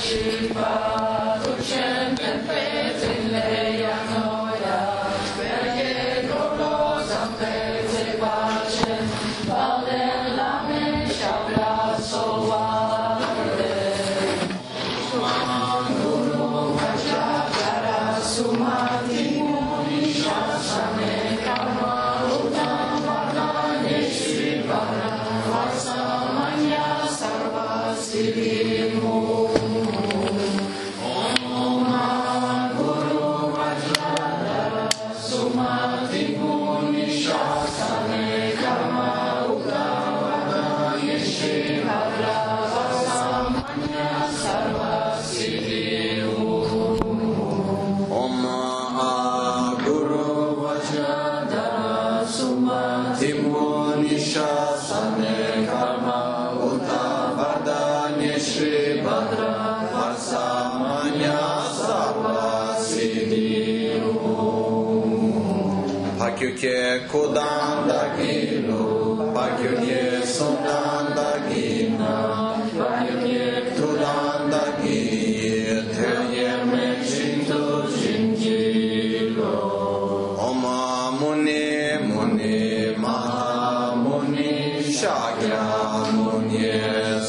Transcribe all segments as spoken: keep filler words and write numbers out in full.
Pakyukye kodanda gino, pakyukye sondanda gina, pakyukye trudanda gi, terye me shinto shinjilo. Oma muni muni maha muni shakya muni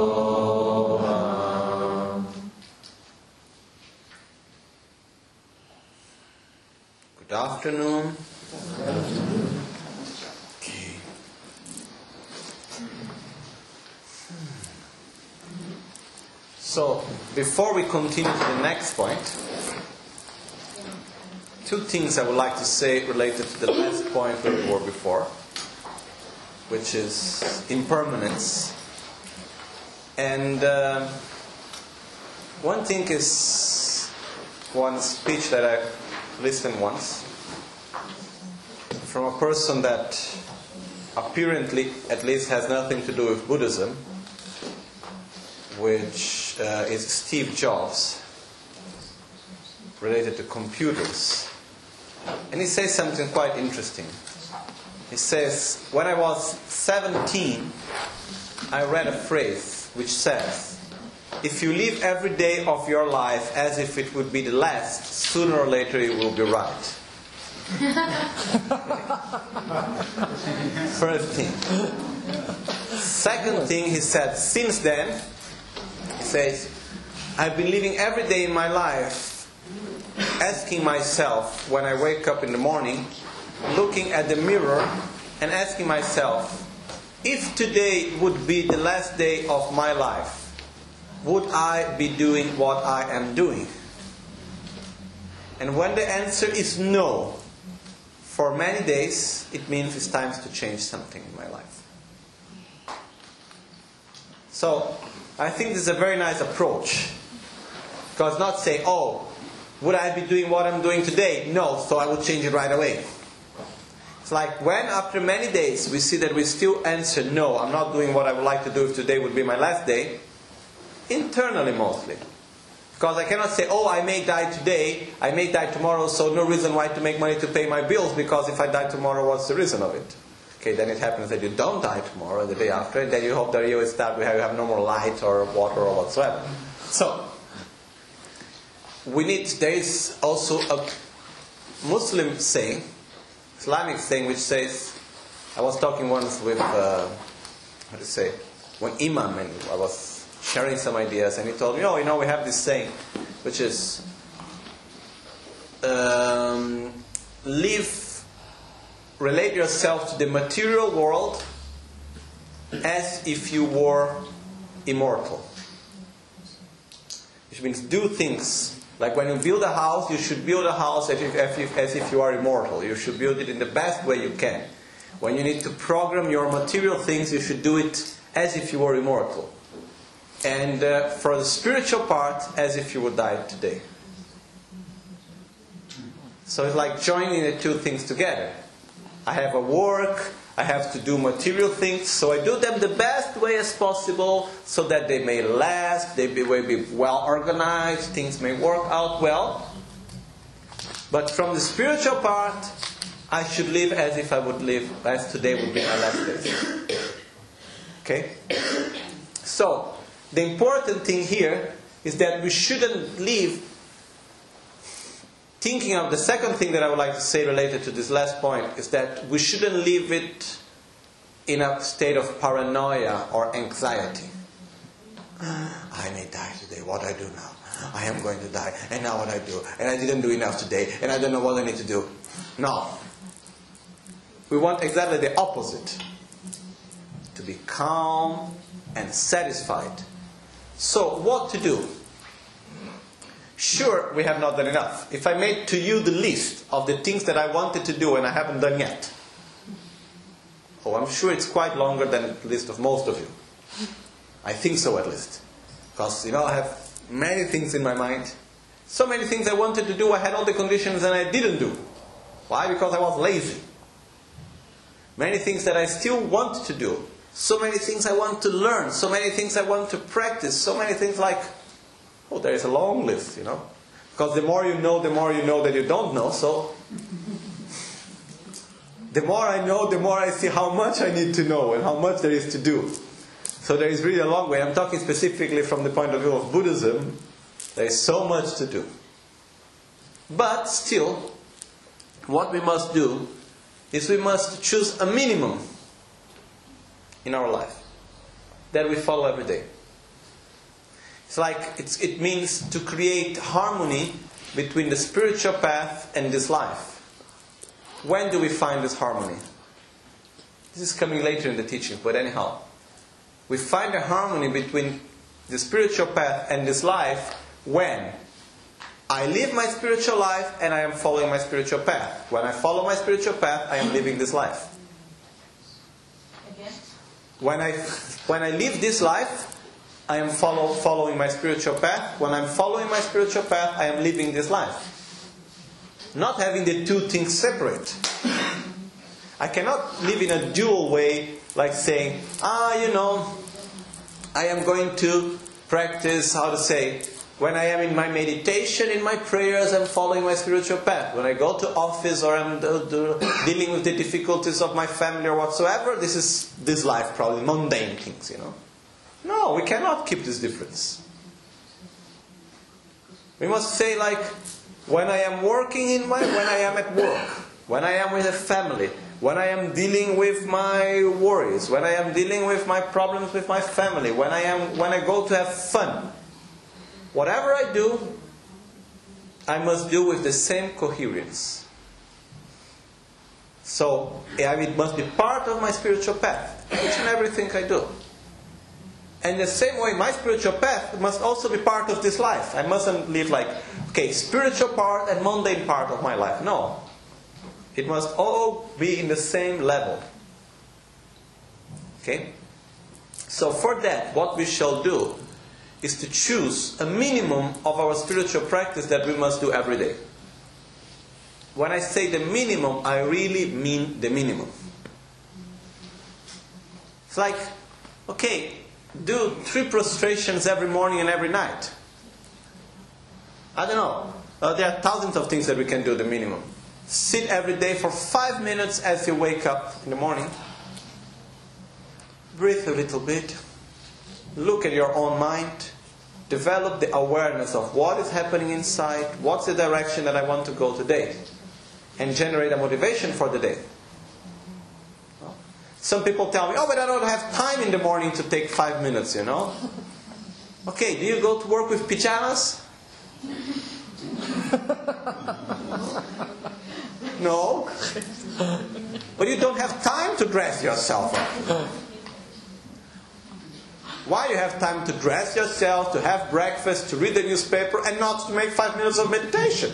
soha. Good afternoon. Okay. So, before we continue to the next point, two things I would like to say related to the last point where we were before, which is impermanence. And uh, one thing is one speech that I listened once from a person that apparently at least has nothing to do with Buddhism, which uh, is Steve Jobs, related to computers. And he says something quite interesting. He says, when I was seventeen, I read a phrase which says, if you live every day of your life as if it would be the last, sooner or later you will be right. First thing. Second thing, he said, since then, he says, I've been living every day in my life asking myself when I wake up in the morning, looking at the mirror and asking myself, if today would be the last day of my life, would I be doing what I am doing? And when the answer is no, for many days, it means it's time to change something in my life. So, I think this is a very nice approach. Because not say, oh, would I be doing what I'm doing today? No, so I will change it right away. It's like when after many days we see that we still answer, no, I'm not doing what I would like to do if today would be my last day. Internally mostly. Because I cannot say, oh, I may die today, I may die tomorrow, so no reason why to make money to pay my bills, because if I die tomorrow, what's the reason of it? Okay, then it happens that you don't die tomorrow, the day after, and then you hope that you will start, you have no more light or water or whatsoever. So, we need, there is also a Muslim saying, Islamic saying, which says, I was talking once with, uh, how to say, one imam, and I was sharing some ideas, and he told me, oh, you know, we have this saying, which is, um, live, relate yourself to the material world as if you were immortal. Which means do things, like when you build a house, you should build a house as if, as if, as if you are immortal. You should build it in the best way you can. When you need to program your material things, you should do it as if you were immortal. And uh, for the spiritual part, as if you would die today. So it's like joining the two things together. I have a work, I have to do material things, so I do them the best way as possible, so that they may last, they may be well organized, things may work out well. But from the spiritual part, I should live as if I would live, as today would be my last day. Okay? So, the important thing here is that we shouldn't live thinking of the second thing that I would like to say related to this last point is that we shouldn't live it in a state of paranoia or anxiety. I may die today, what I do now? I am going to die, and now what I do? And I didn't do enough today, and I don't know what I need to do. No. We want exactly the opposite. To be calm and satisfied. So, what to do? Sure, we have not done enough. If I made to you the list of the things that I wanted to do and I haven't done yet, oh, I'm sure it's quite longer than the list of most of you. I think so, at least. Because, you know, I have many things in my mind. So many things I wanted to do, I had all the conditions and I didn't do. Why? Because I was lazy. Many things that I still want to do. So many things I want to learn. So many things I want to practice. So many things like, oh, there is a long list, you know. Because the more you know, the more you know that you don't know. So, the more I know, the more I see how much I need to know and how much there is to do. So there is really a long way. I'm talking specifically from the point of view of Buddhism. There is so much to do. But still, what we must do is we must choose a minimum in our life that we follow every day. It's like it's, it means to create harmony between the spiritual path and this life. When do we find this harmony? This is coming later in the teaching, but anyhow. We find a harmony between the spiritual path and this life when I live my spiritual life and I am following my spiritual path. When I follow my spiritual path, I am living this life. When I, when I live this life, I am follow, following my spiritual path. When I'm following my spiritual path, I am living this life. Not having the two things separate. I cannot live in a dual way, like saying, ah, you know, I am going to practice, how to say, when I am in my meditation, in my prayers, I'm following my spiritual path. When I go to office or I'm do, do, dealing with the difficulties of my family or whatsoever, this is this life, probably mundane things, you know. No, we cannot keep this difference. We must say, like, when I am working in my, when I am at work, when I am with a family, when I am dealing with my worries, when I am dealing with my problems with my family, when I am, when I go to have fun, whatever I do, I must do with the same coherence. So, it must be part of my spiritual path, each and everything I do. And the same way, my spiritual path must also be part of this life. I mustn't live like, okay, spiritual part and mundane part of my life. No. It must all be in the same level. Okay? So for that, what we shall do is to choose a minimum of our spiritual practice that we must do every day. When I say the minimum, I really mean the minimum. It's like, okay, do three prostrations every morning and every night. I don't know. Uh, there are thousands of things that we can do the minimum. Sit every day for five minutes as you wake up in the morning. Breathe a little bit. Look at your own mind. Develop the awareness of what is happening inside. What's the direction that I want to go today? And generate a motivation for the day. Some people tell me, oh, but I don't have time in the morning to take five minutes, you know. Okay, do you go to work with pajamas? No. But you don't have time to dress yourself up. Why you have time to dress yourself, to have breakfast, to read the newspaper, and not to make five minutes of meditation?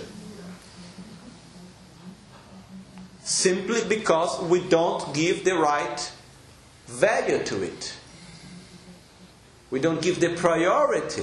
Simply because we don't give the right value to it. We don't give the priority.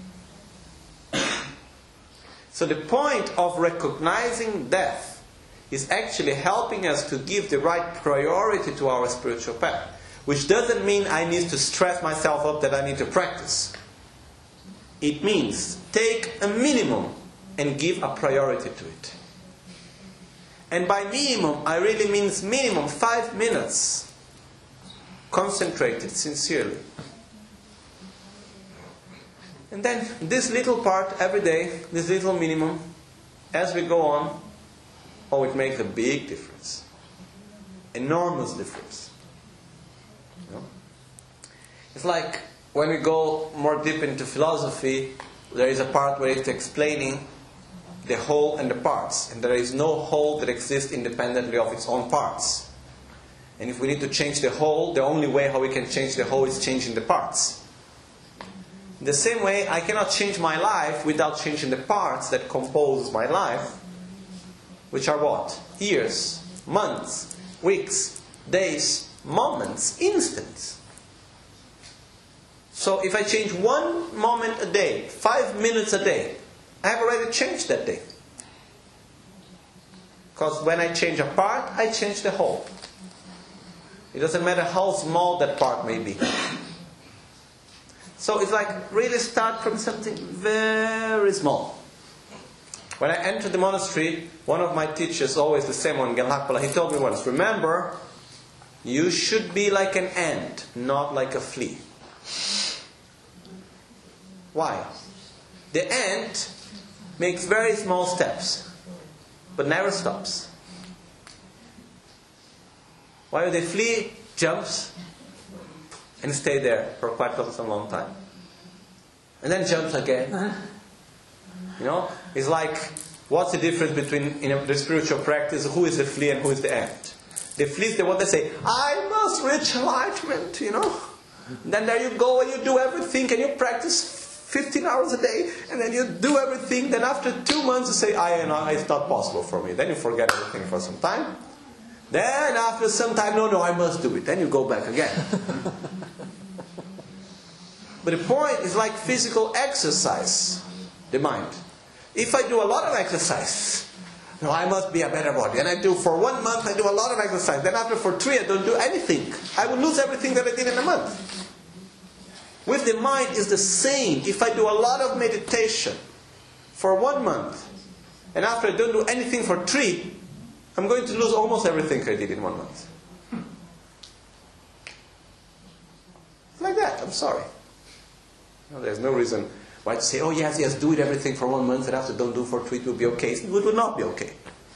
So the point of recognizing death is actually helping us to give the right priority to our spiritual path. Which doesn't mean I need to stress myself up that I need to practice. It means take a minimum and give a priority to it. And by minimum, I really mean minimum five minutes. Concentrated, sincerely. And then this little part every day, this little minimum, as we go on, oh, it makes a big difference. Enormous difference. You know? It's like when we go more deep into philosophy, there is a part where it's explaining the whole and the parts. And there is no whole that exists independently of its own parts. And if we need to change the whole, the only way how we can change the whole is changing the parts. In the same way, I cannot change my life without changing the parts that compose my life, which are what? Years, months, weeks, days, moments, instants. So if I change one moment a day, five minutes a day, I have already changed that day. Because when I change a part, I change the whole. It doesn't matter how small that part may be. So it's like really start from something very small. When I entered the monastery, one of my teachers, always the same one, Gelakpala, he told me once, remember, you should be like an ant, not like a flea. Why? The ant makes very small steps, but never stops. While the flea jumps and stays there for quite some long time. And then jumps again. You know, it's like, what's the difference between in the spiritual practice, who is the flea and who is the ant? The flea is the one that say, I must reach enlightenment, you know. And then there you go and you do everything and you practice fifteen hours a day and then you do everything. Then after two months you say, I know it's not possible for me. Then you forget everything for some time. Then after some time, no, no, I must do it. Then you go back again. But the point is like physical exercise, the mind. If I do a lot of exercise, no, I must be a better body. And I do for one month, I do a lot of exercise. Then after for three, I don't do anything. I will lose everything that I did in a month. With the mind, it's the same. If I do a lot of meditation for one month, and after I don't do anything for three, I'm going to lose almost everything I did in one month. Like that, I'm sorry. No, there's no reason why to say, oh yes, yes, do it everything for one month and after don't do for three, it will be okay. It will not be okay.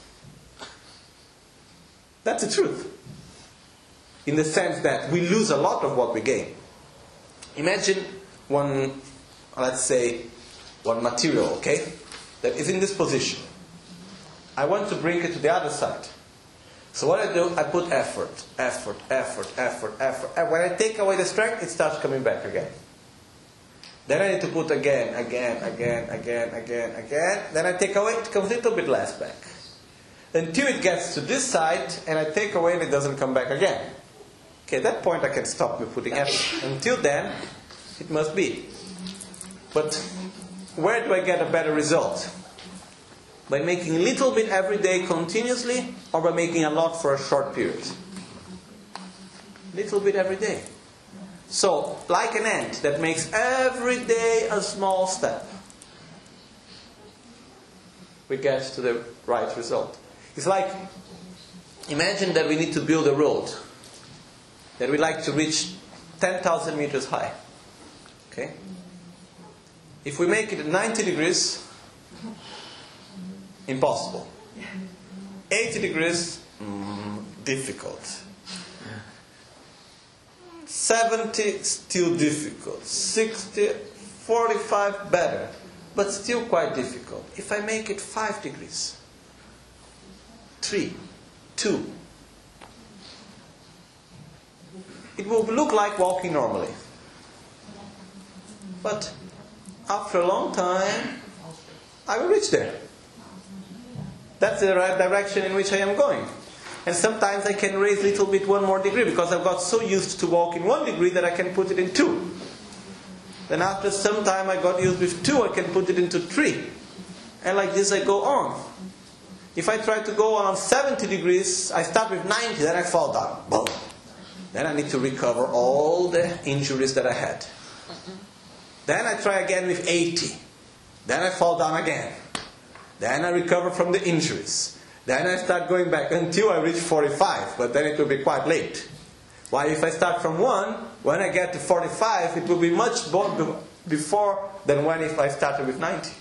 That's the truth. In the sense that we lose a lot of what we gain. Imagine one, let's say, one material, okay, that is in this position. I want to bring it to the other side. So what I do, I put effort, effort, effort, effort, effort. And when I take away the strength, it starts coming back again. Then I need to put again, again, again, again, again, again. Then I take away, it comes a little bit less back. Until it gets to this side, and I take away and it doesn't come back again. Okay, at that point I can stop me putting effort. Until then, it must be. But where do I get a better result? By making a little bit every day continuously, or by making a lot for a short period? Little bit every day. So, like an ant that makes every day a small step, we get to the right result. It's like, imagine that we need to build a road that we like to reach ten thousand meters high. Okay? If we make it at ninety degrees, impossible. eighty degrees, mm, difficult. seventy, still difficult. sixty, forty-five, better. But still quite difficult. If I make it five degrees, three, two, it will look like walking normally. But after a long time, I will reach there. That's the right direction in which I am going. And sometimes I can raise a little bit one more degree because I've got so used to walk in one degree that I can put it in two. Then after some time I got used with two, I can put it into three. And like this I go on. If I try to go on seventy degrees, I start with ninety, then I fall down. Boom. Then I need to recover all the injuries that I had. Then I try again with eighty. Then I fall down again. Then I recover from the injuries. Then I start going back until I reach forty-five, but then it will be quite late. While if I start from one, when I get to forty-five, it will be much more, before than when if I started with ninety.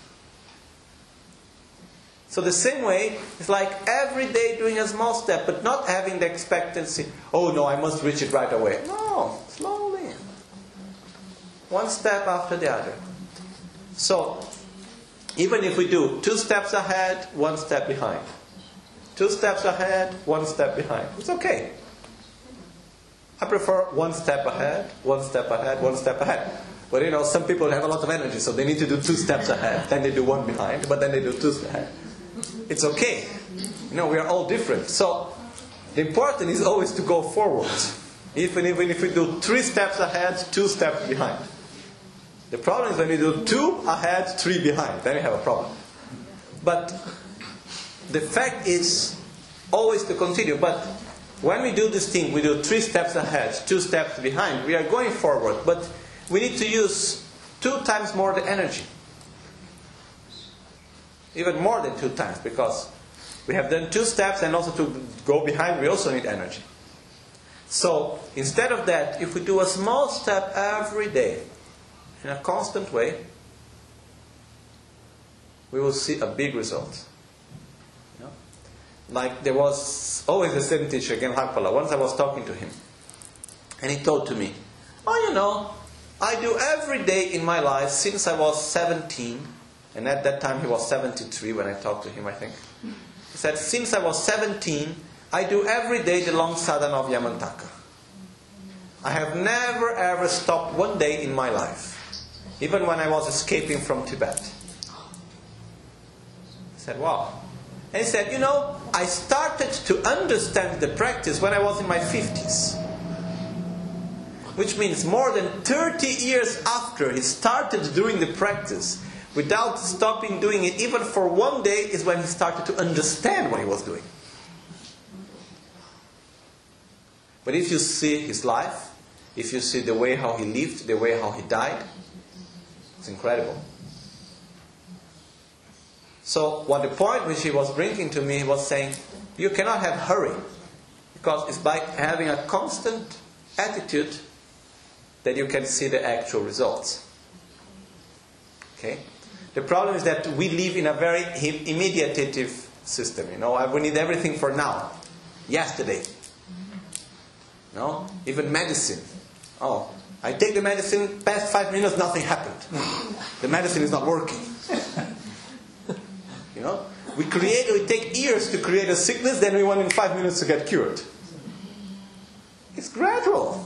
So the same way, it's like every day doing a small step, but not having the expectancy, oh no, I must reach it right away. No, slowly. One step after the other. So, even if we do two steps ahead, one step behind. Two steps ahead, one step behind. It's okay. I prefer one step ahead, one step ahead, one step ahead. But you know, some people have a lot of energy, so they need to do two steps ahead, then they do one behind, but then they do two steps ahead. It's okay. You know, we are all different. So, the important is always to go forward. Even, even if we do three steps ahead, two steps behind. The problem is when we do two ahead, three behind. Then we have a problem. But the fact is always to continue. But when we do this thing, we do three steps ahead, two steps behind. We are going forward. But we need to use two times more the energy. Even more than two times. Because we have done two steps and also to go behind, we also need energy. So instead of that, if we do a small step every day, in a constant way, we will see a big result. You know? Like there was always the same teacher, again, Hakpala. Once I was talking to him, and he told to me, oh, you know, I do every day in my life since I was seventeen, and at that time he was seventy-three when I talked to him, I think. He said, since I was seventeen, I do every day the long sadhana of Yamantaka. I have never ever stopped one day in my life. Even when I was escaping from Tibet. I said, wow. And he said, you know, I started to understand the practice when I was in my fifties. Which means more than thirty years after he started doing the practice, without stopping doing it even for one day, is when he started to understand what he was doing. But if you see his life, if you see the way how he lived, the way how he died, it's incredible. So what the point which he was bringing to me was saying, you cannot have hurry. Because it's by having a constant attitude that you can see the actual results. Okay? The problem is that we live in a very immediatative system. You know, we need everything for now. Yesterday. No? Even medicine. Oh, I take the medicine, past five minutes, nothing happened. The medicine is not working. You know? We create, we take years to create a sickness, then we want in five minutes to get cured. It's gradual.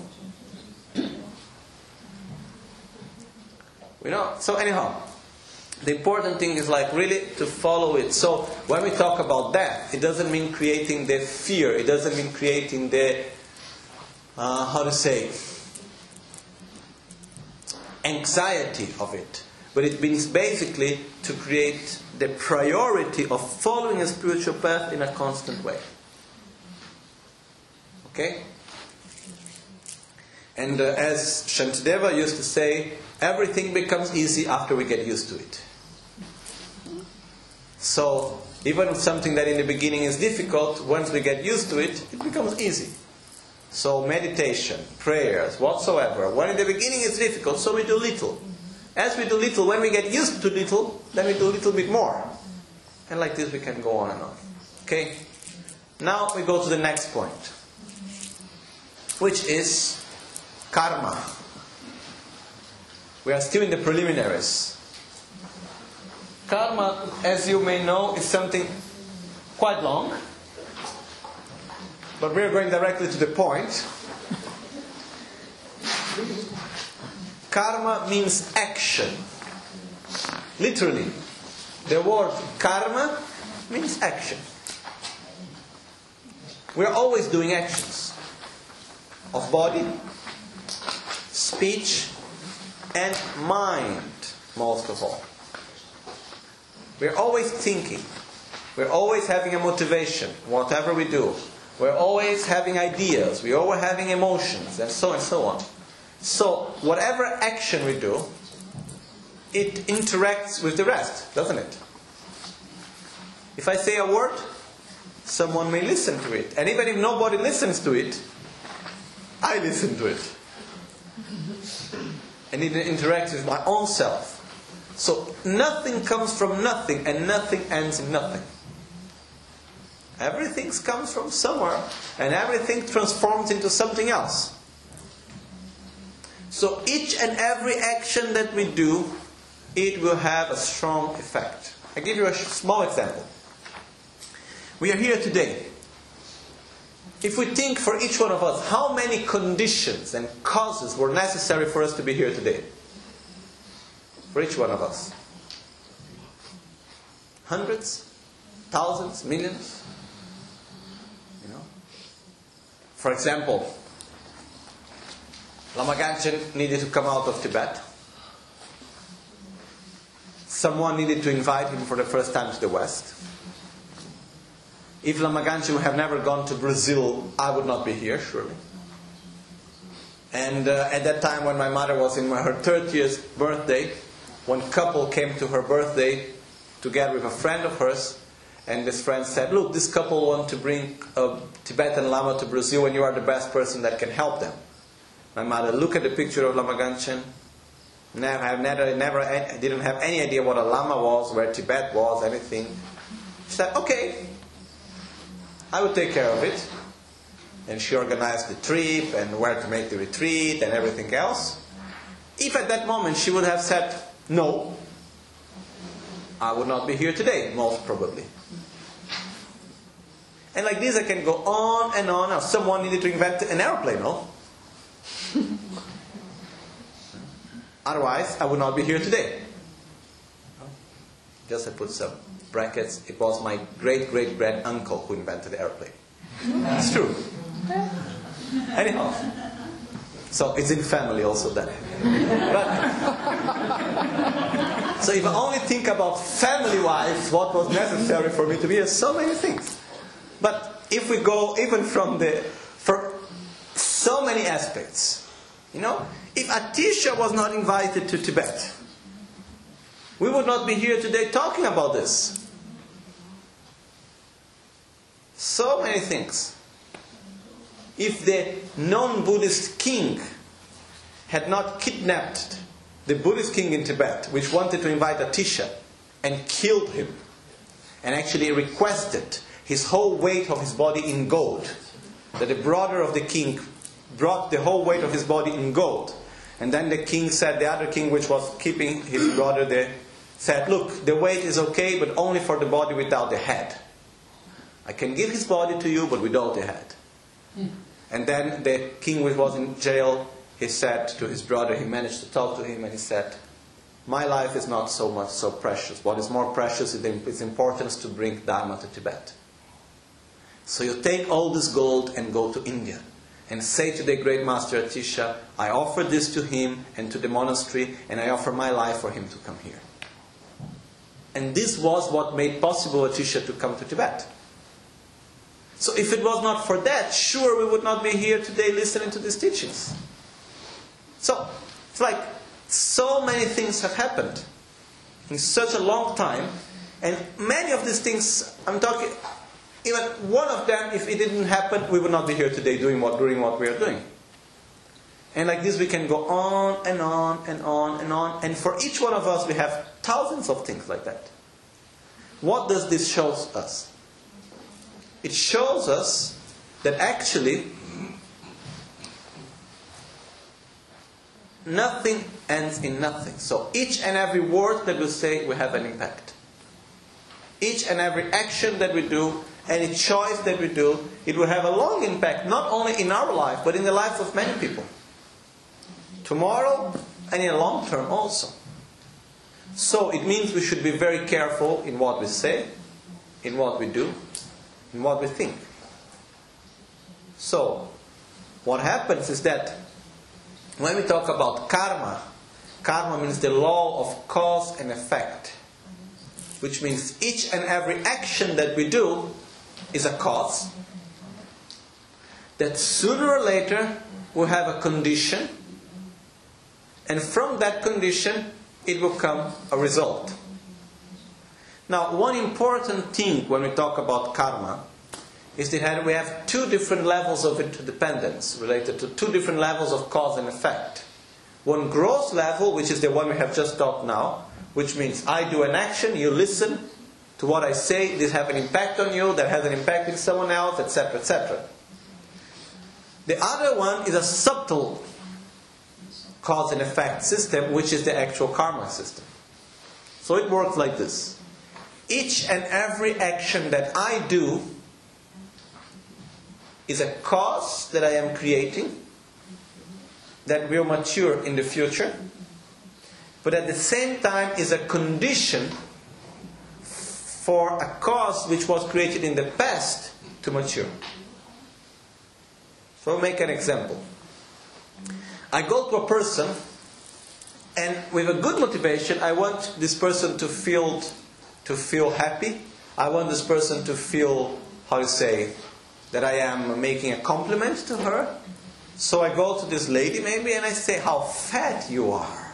You know? So anyhow, the important thing is like really to follow it. So when we talk about death, it doesn't mean creating the fear. It doesn't mean creating the, uh, how to say, anxiety of it. But it means basically to create the priority of following a spiritual path in a constant way. Okay? And uh, as Shantideva used to say, everything becomes easy after we get used to it. So, even something that in the beginning is difficult, once we get used to it, it becomes easy. So meditation, prayers, whatsoever, when in the beginning it's difficult, so we do little. As we do little, when we get used to little, then we do a little bit more. And like this we can go on and on. Okay? Now we go to the next point, which is karma. We are still in the preliminaries. Karma, as you may know, is something quite long. But we are going directly to the point. Karma means action. Literally, the word karma means action. We are always doing actions of body, speech, and mind, most of all. We are always thinking. We are always having a motivation, whatever we do. We're always having ideas, we're always having emotions, and so and so on. So, whatever action we do, it interacts with the rest, doesn't it? If I say a word, someone may listen to it. And even if nobody listens to it, I listen to it. and it interacts with my own self. So nothing comes from nothing, and nothing ends in nothing. Everything comes from somewhere, and everything transforms into something else. So each and every action that we do, it will have a strong effect. I give you a small example. We are here today. If we think for each one of us, how many conditions and causes were necessary for us to be here today? For each one of us. Hundreds? Thousands? Millions? You know? For example, Lama Gangchen needed to come out of Tibet. Someone needed to invite him for the first time to the West. If Lama Gangchen would have never gone to Brazil, I would not be here, surely. And uh, at that time when my mother was in her thirtieth birthday, one couple came to her birthday together with a friend of hers, and this friend said, look, this couple want to bring a Tibetan Lama to Brazil and you are the best person that can help them. My mother looked at the picture of Lama Gangchen. Never, I never, never, I didn't have any idea what a Lama was, where Tibet was, anything. She said, okay, I will take care of it. And she organized the trip and where to make the retreat and everything else. If at that moment she would have said no, I would not be here today, most probably. And like this I can go on and on. Now, someone needed to invent an airplane, no? Otherwise, I would not be here today. Just I put some brackets. It was my great-great-grand-uncle who invented the airplane. It's true. Anyhow. So it's in family also then. But, so if I only think about family-wise, what was necessary for me to be here, so many things. But if we go even from the, for so many aspects, you know, if Atisha was not invited to Tibet, we would not be here today talking about this. So many things. If the non-Buddhist king had not kidnapped the Buddhist king in Tibet, which wanted to invite Atisha, and killed him, and actually requested his whole weight of his body in gold, that the brother of the king brought the whole weight of his body in gold. And then the king said, the other king which was keeping his brother there, said, look, the weight is okay, but only for the body without the head. I can give his body to you, but without the head. Mm. And then the king which was in jail, he said to his brother, he managed to talk to him, and he said, my life is not so much so precious. What is more precious is its importance to bring Dharma to Tibet. So you take all this gold and go to India. And say to the great master Atisha, I offer this to him and to the monastery, and I offer my life for him to come here. And this was what made possible Atisha to come to Tibet. So if it was not for that, sure we would not be here today listening to these teachings. So, it's like so many things have happened in such a long time, and many of these things, I'm talking... Even one of them, if it didn't happen, we would not be here today doing what, doing what we are doing. And like this we can go on and on and on and on. And for each one of us we have thousands of things like that. What does this show us? It shows us that actually nothing ends in nothing. So each and every word that we say will have an impact. Each and every action that we do, any choice that we do, it will have a long impact, not only in our life, but in the lives of many people. Tomorrow, and in the long term also. So it means we should be very careful in what we say, in what we do, in what we think. So, what happens is that when we talk about karma, karma means the law of cause and effect. Which means each and every action that we do is a cause, that sooner or later will have a condition, and from that condition it will come a result. Now, one important thing when we talk about karma is that we have two different levels of interdependence related to two different levels of cause and effect. one gross level, which is the one we have just talked now, which means I do an action, you listen to what I say, this has an impact on you, that has an impact on someone else, et cetera, et cetera. The other one is a subtle cause and effect system, which is the actual karma system. So it works like this. Each and every action that I do is a cause that I am creating that will mature in the future, but at the same time is a condition for a cause which was created in the past to mature. So I'll make an example. I go to a person, and with a good motivation, I want this person to feel to feel happy. I want this person to feel, how to say, that I am making a compliment to her. So I go to this lady maybe and I say, how fat you are.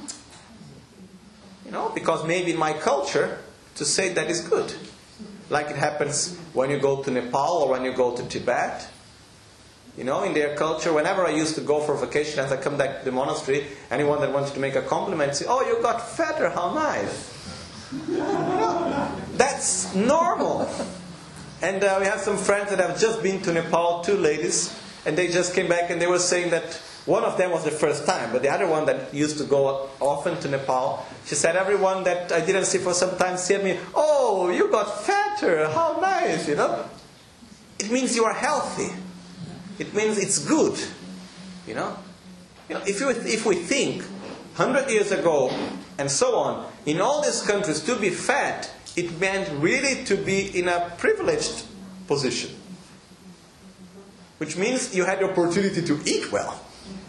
You know, because maybe in my culture, to say that is good. Like it happens when you go to Nepal or when you go to Tibet. You know, in their culture, whenever I used to go for vacation, as I come back to the monastery, anyone that wanted to make a compliment say, oh, you got fatter, how nice. You know, that's normal. And uh, we have some friends that have just been to Nepal, two ladies, and they just came back and they were saying that one of them was the first time, but the other one that used to go often to Nepal, she said, everyone that I didn't see for some time said me, oh, you got fatter, how nice, you know. It means you are healthy. It means it's good, you know. You know, if you if we think hundred years ago and so on, in all these countries to be fat, it meant really to be in a privileged position, which means you had the opportunity to eat well.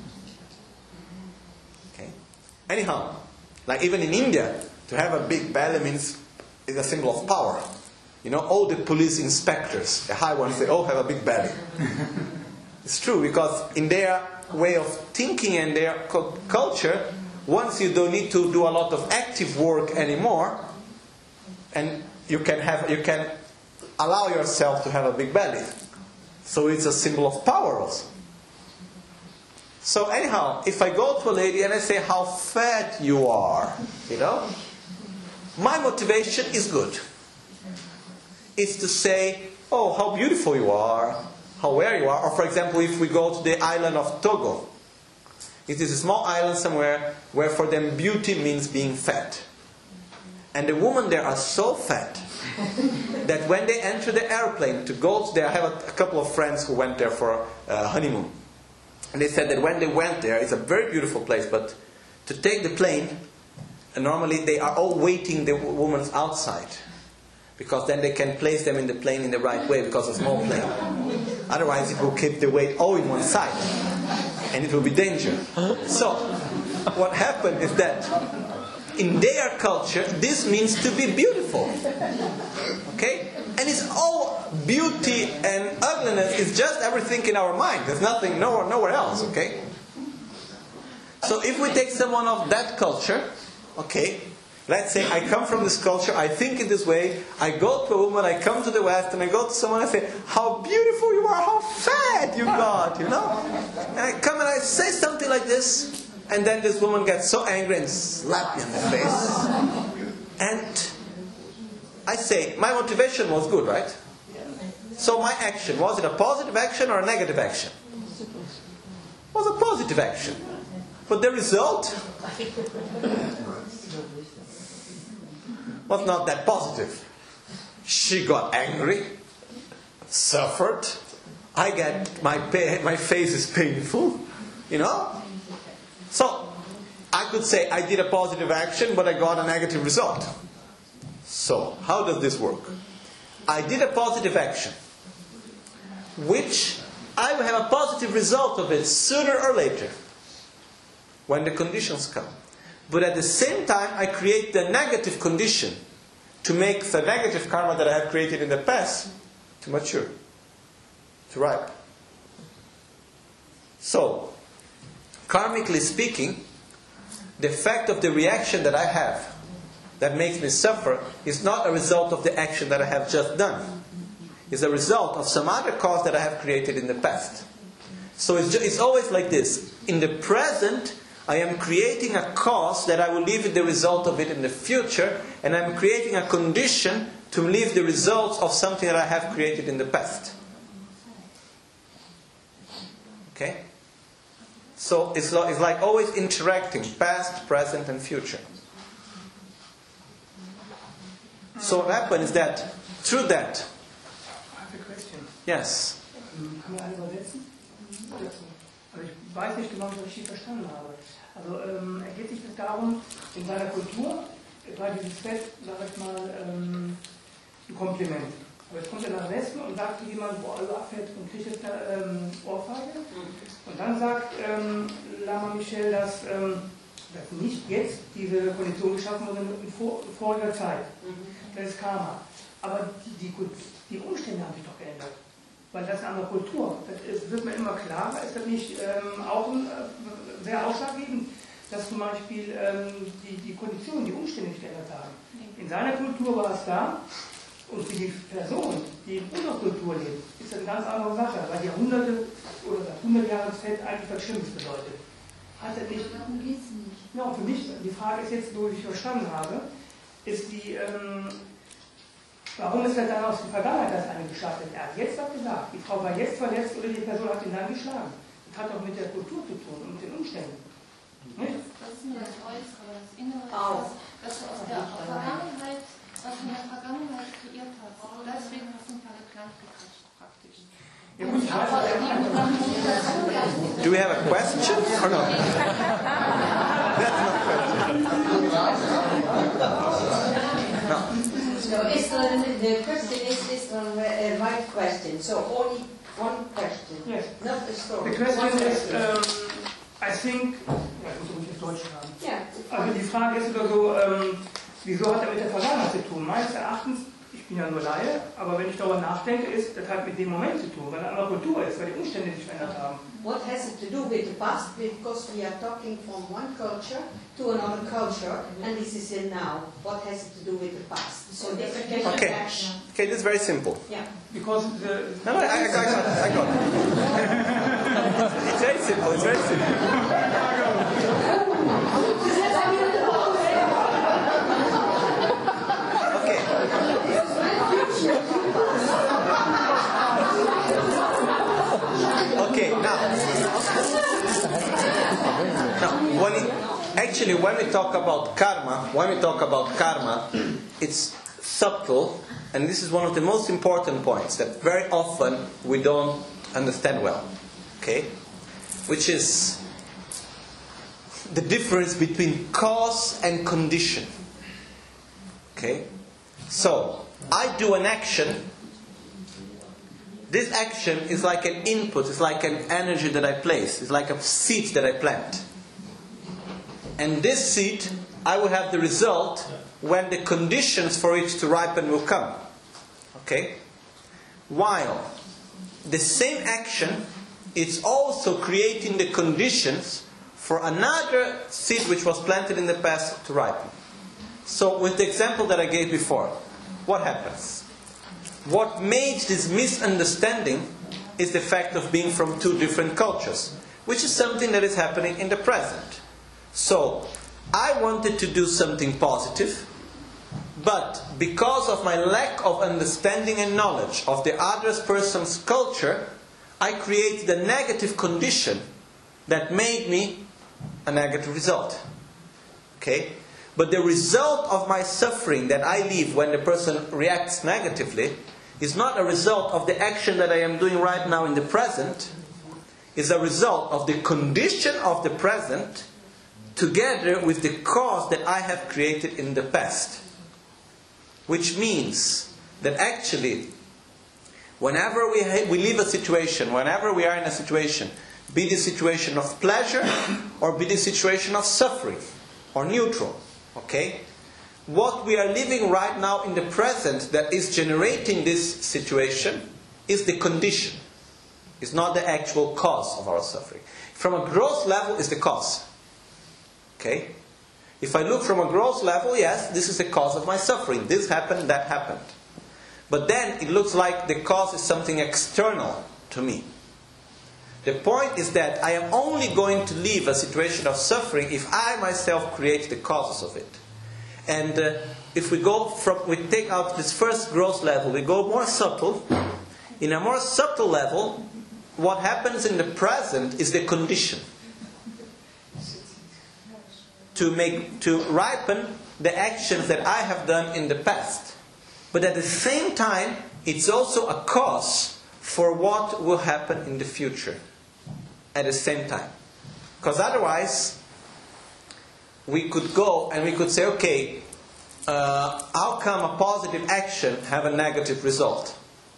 Okay. Anyhow, like even in India, to have a big belly means is a symbol of power. You know, all the police inspectors, the high ones, they all have a big belly. It's true, because in their way of thinking and their culture, once you don't need to do a lot of active work anymore, and you can have, you can allow yourself to have a big belly. So it's a symbol of power also. So anyhow, if I go to a lady and I say, how fat you are, you know, my motivation is good. It's to say, oh, how beautiful you are, how where you are. Or for example, if we go to the island of Togo, it is a small island somewhere where for them beauty means being fat. And the women there are so fat that when they enter the airplane to go to there, I have a, a couple of friends who went there for a honeymoon. And they said that when they went there, it's a very beautiful place, but to take the plane, and normally they are all waiting the women outside. Because then they can place them in the plane in the right way, because it's a small plane. Otherwise it will keep the weight all in one side. And it will be dangerous. So, what happened is that in their culture, this means to be beautiful. Okay? And it's all beauty and ugliness is just everything in our mind. There's nothing, nowhere, nowhere else. Okay? So if we take someone of that culture, okay, let's say I come from this culture, I think in this way, I go to a woman, I come to the West, and I go to someone and I say, how beautiful you are, how fat you got, you know? And I come and I say something like this, and then this woman gets so angry and slaps me in the face. And I say, my motivation was good, right? So my action, was it a positive action or a negative action? It was a positive action. But the result was not that positive. She got angry, suffered. I get my pain, my face is painful, you know. So I could say I did a positive action, but I got a negative result. So how does this work? I did a positive action, which I will have a positive result of it sooner or later, when the conditions come. But at the same time, I create the negative condition to make the negative karma that I have created in the past to mature, to ripen. So, karmically speaking, the effect of the reaction that I have that makes me suffer is not a result of the action that I have just done. It's a result of some other cause that I have created in the past. So it's, just, it's always like this. In the present, I am creating a cause that I will live the result of it in the future, and I'm creating a condition to live the results of something that I have created in the past. Okay? So it's like, it's like always interacting, past, present, and future. So what happens is that, through that... I have a question. Yes. Kann man alle übersetzen? Also ich weiß nicht genau, ob ich richtig verstanden habe. Also ähm, er geht sich das darum, in seiner Kultur war dieses Fest, sag ich mal, ähm, ein Kompliment. Aber jetzt kommt er nach Westen und sagt zu jemandem, wo alles abfällt und kriegt jetzt eine ähm, Ohrfeige. Und dann sagt ähm, Lama Michel, dass, ähm, dass nicht jetzt diese Kondition geschaffen wurde, sondern in vor, voriger Zeit. Das ist Karma. Aber die, die, die Umstände haben sich doch geändert. Weil das eine andere Kultur. Das ist, wird mir immer klarer. Ist das nicht ähm, auch ein, äh, sehr ausschlaggebend, dass zum Beispiel ähm, die, die Konditionen, die Umstände sich geändert haben? In seiner Kultur war es da. Und für die Person, die in unserer Kultur lebt, ist das eine ganz andere Sache, weil Jahrhunderte oder das hundert Jahre Fett eigentlich was Schlimmes bedeutet. Hat er nicht? Darum geht es nicht. Ja, für mich, die Frage ist jetzt, wo ich verstanden habe, ist die, ähm, warum ist das dann aus der Vergangenheit das eine gestattet? Er hat jetzt was gesagt, die Frau war jetzt verletzt oder die Person hat ihn dann geschlagen. Das hat auch mit der Kultur zu tun und mit den Umständen. Nicht? Das ist nur das Äußere, das Innere, Auch. das, das du aus der Vergangenheit, was du in der Vergangenheit kreiert hast. Deswegen hast du ein paar Kleid gekriegt, praktisch. Ja, gut, ich weiß, Do we have a question or no? That's not a question. No. So is the, the question is this one a right question? So only one question, yes. not a story. The question is, um, I think, ja, ich muss jetzt Deutsch schreiben. Yeah. Also die Frage ist oder so, ähm, wieso hat er mit der Vergangenheit zu tun? Meines Erachtens, ich bin ja nur Laie, aber wenn ich darüber nachdenke, ist, das hat mit dem Moment zu tun, weil eine andere Kultur ist, weil die Umstände sich verändert haben. What has it to do with the past? Because we are talking from one culture to another culture, and this is in now. What has it to do with the past? So different Okay. action. Okay, this is very simple. Yeah. Because the, No, no, I, I got it. I got it. It's very simple. It's very simple. Okay. Okay, now. Now, when it, actually, when we talk about karma, when we talk about karma, it's subtle, and this is one of the most important points that very often we don't understand well. Okay? Which is the difference between cause and condition. Okay? So, I do an action. This action is like an input, it's like an energy that I place, it's like a seed that I plant. And this seed, I will have the result when the conditions for it to ripen will come. Okay? While the same action is also creating the conditions for another seed which was planted in the past to ripen. So with the example that I gave before, what happens? What made this misunderstanding is the fact of being from two different cultures, which is something that is happening in the present. So, I wanted to do something positive, but because of my lack of understanding and knowledge of the other person's culture, I created a negative condition that made me a negative result. Okay? But the result of my suffering that I live when the person reacts negatively is not a result of the action that I am doing right now in the present. It's a result of the condition of the present together with the cause that I have created in the past. Which means that actually, whenever we, ha- we leave a situation, whenever we are in a situation, be the situation of pleasure or be the situation of suffering or neutral, okay? What we are living right now in the present that is generating this situation is the condition. It's not the actual cause of our suffering. From a gross level is the cause. Okay? If I look from a gross level, yes, this is the cause of my suffering. This happened, that happened. But then it looks like the cause is something external to me. The point is that I am only going to leave a situation of suffering if I myself create the causes of it. And uh, if we go from, we take out this first gross level, we go more subtle. In a more subtle level, what happens in the present is the condition to make, to ripen the actions that I have done in the past. But at the same time, it's also a cause for what will happen in the future at the same time. Because otherwise, we could go and we could say, okay, uh, how come a positive action have a negative result?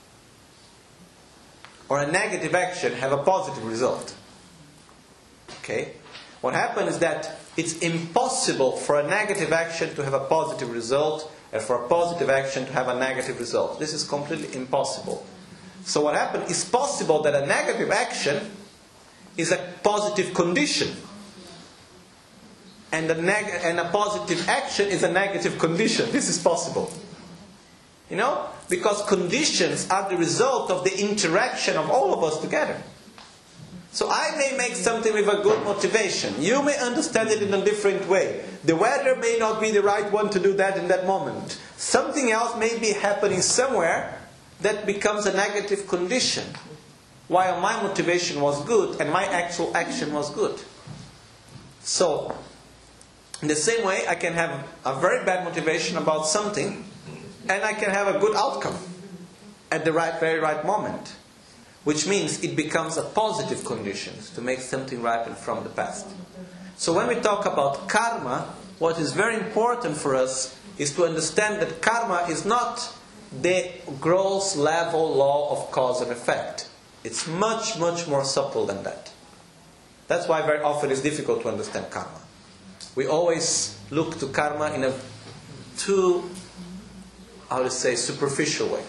Or a negative action have a positive result? Okay? What happens is that it's impossible for a negative action to have a positive result and for a positive action to have a negative result. This is completely impossible. So what happens is possible that a negative action is a positive condition. And a, neg- and a positive action is a negative condition. This is possible. You know? Because conditions are the result of the interaction of all of us together. So I may make something with a good motivation. You may understand it in a different way. The weather may not be the right one to do that in that moment. Something else may be happening somewhere that becomes a negative condition, while my motivation was good and my actual action was good. So, in the same way, I can have a very bad motivation about something, and I can have a good outcome at the right, very right moment. Which means it becomes a positive condition to make something ripen from the past. So when we talk about karma, what is very important for us is to understand that karma is not the gross level law of cause and effect. It's much, much more subtle than that. That's why very often it's difficult to understand karma. We always look to karma in a too, how to say, superficial way.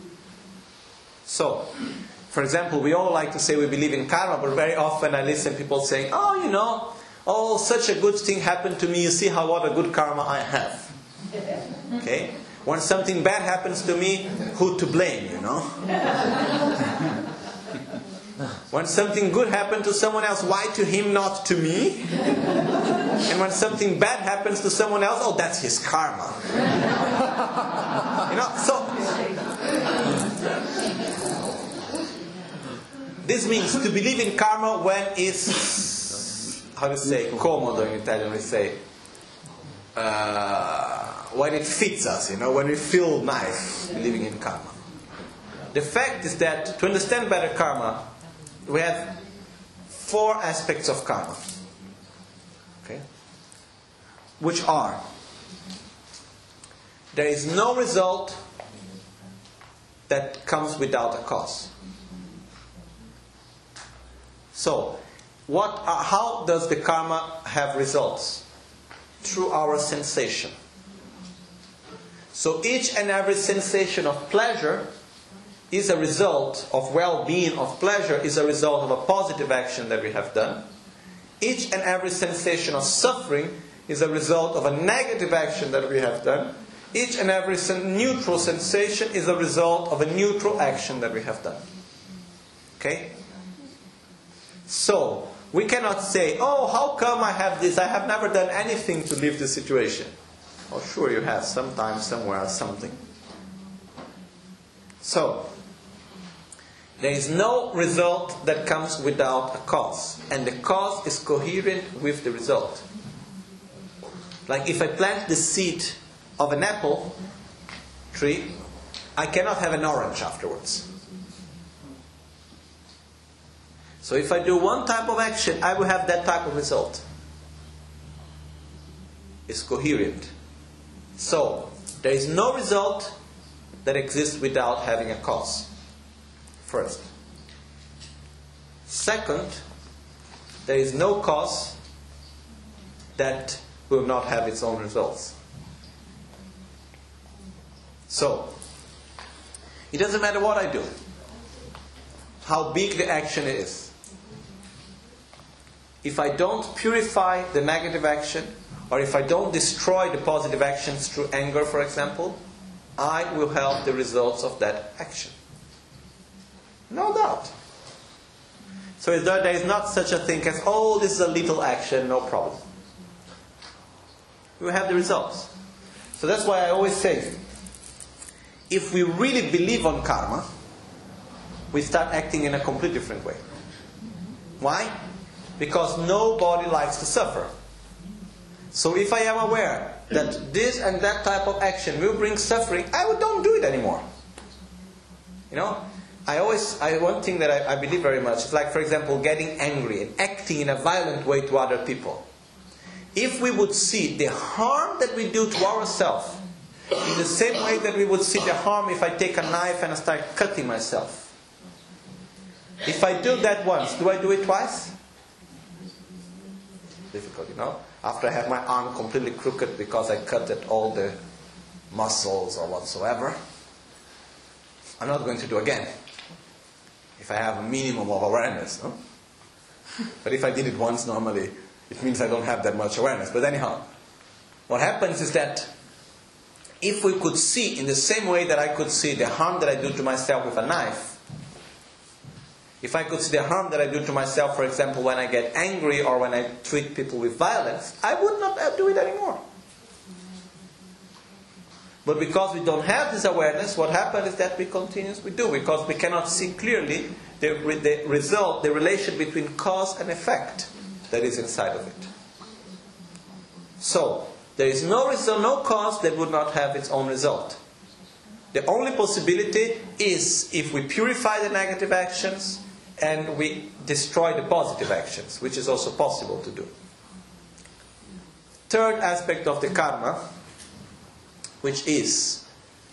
So, for example, we all like to say we believe in karma, but very often I listen to people saying, oh, you know, oh, such a good thing happened to me, you see how what a good karma I have. Okay? When something bad happens to me, who to blame, you know? When something good happened to someone else, why to him, not to me? And when something bad happens to someone else, oh, that's his karma. You know, so... This means to believe in karma when it's, how to say, comodo in Italian we say, uh, when it fits us, you know, when we feel nice believing in karma. The fact is that to understand better karma, we have four aspects of karma, okay, which are: there is no result that comes without a cause. So, what? Uh, how does the karma have results? Through our sensation. So each and every sensation of pleasure is a result of well-being, of pleasure, is a result of a positive action that we have done. Each and every sensation of suffering is a result of a negative action that we have done. Each and every neutral sensation is a result of a neutral action that we have done. Okay? So, we cannot say, oh, how come I have this? I have never done anything to leave this situation. Oh, sure you have, sometime, somewhere, something. So, there is no result that comes without a cause. And the cause is coherent with the result. Like if I plant the seed of an apple tree, I cannot have an orange afterwards. So if I do one type of action, I will have that type of result. It's coherent. So, there is no result that exists without having a cause. First. Second, there is no cause that will not have its own results. So, it doesn't matter what I do, how big the action is. If I don't purify the negative action, or if I don't destroy the positive actions through anger, for example, I will have the results of that action. No doubt. So there is not such a thing as, oh, this is a little action, no problem. We have the results. So that's why I always say, if we really believe on karma, we start acting in a completely different way. Why? Because nobody likes to suffer. So if I am aware that this and that type of action will bring suffering, I don't do it anymore. You know, I always, I, one thing that I, I believe very much is like, for example, getting angry and acting in a violent way to other people. If we would see the harm that we do to ourselves in the same way that we would see the harm if I take a knife and I start cutting myself. If I do that once, do I do it twice? Difficult, you know. After I have my arm completely crooked because I cut at all the muscles or whatsoever, I'm not going to do again. If I have a minimum of awareness, no? But if I did it once, normally it means I don't have that much awareness. But anyhow, what happens is that if we could see in the same way that I could see the harm that I do to myself with a knife, if I could see the harm that I do to myself, for example, when I get angry or when I treat people with violence, I would not do it anymore. But because we don't have this awareness, what happens is that we continuously do, because we cannot see clearly the, the result, the relation between cause and effect that is inside of it. So, there is no result, no cause that would not have its own result. The only possibility is if we purify the negative actions and we destroy the positive actions, which is also possible to do. Third aspect of the karma, which is,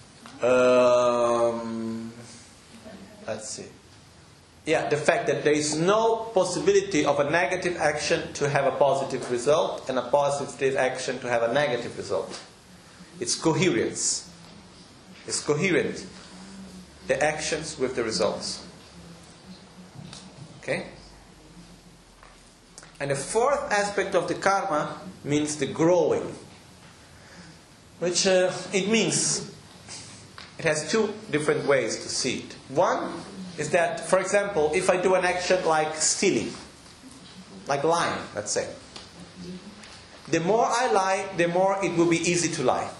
um, let's see, yeah, the fact that there is no possibility of a negative action to have a positive result and a positive action to have a negative result. It's coherence. It's coherent, the actions with the results. Okay? And the fourth aspect of the karma means the growing. Which uh, it means, it has two different ways to see it. One is that, for example, if I do an action like stealing, like lying, let's say. The more I lie, the more it will be easy to lie.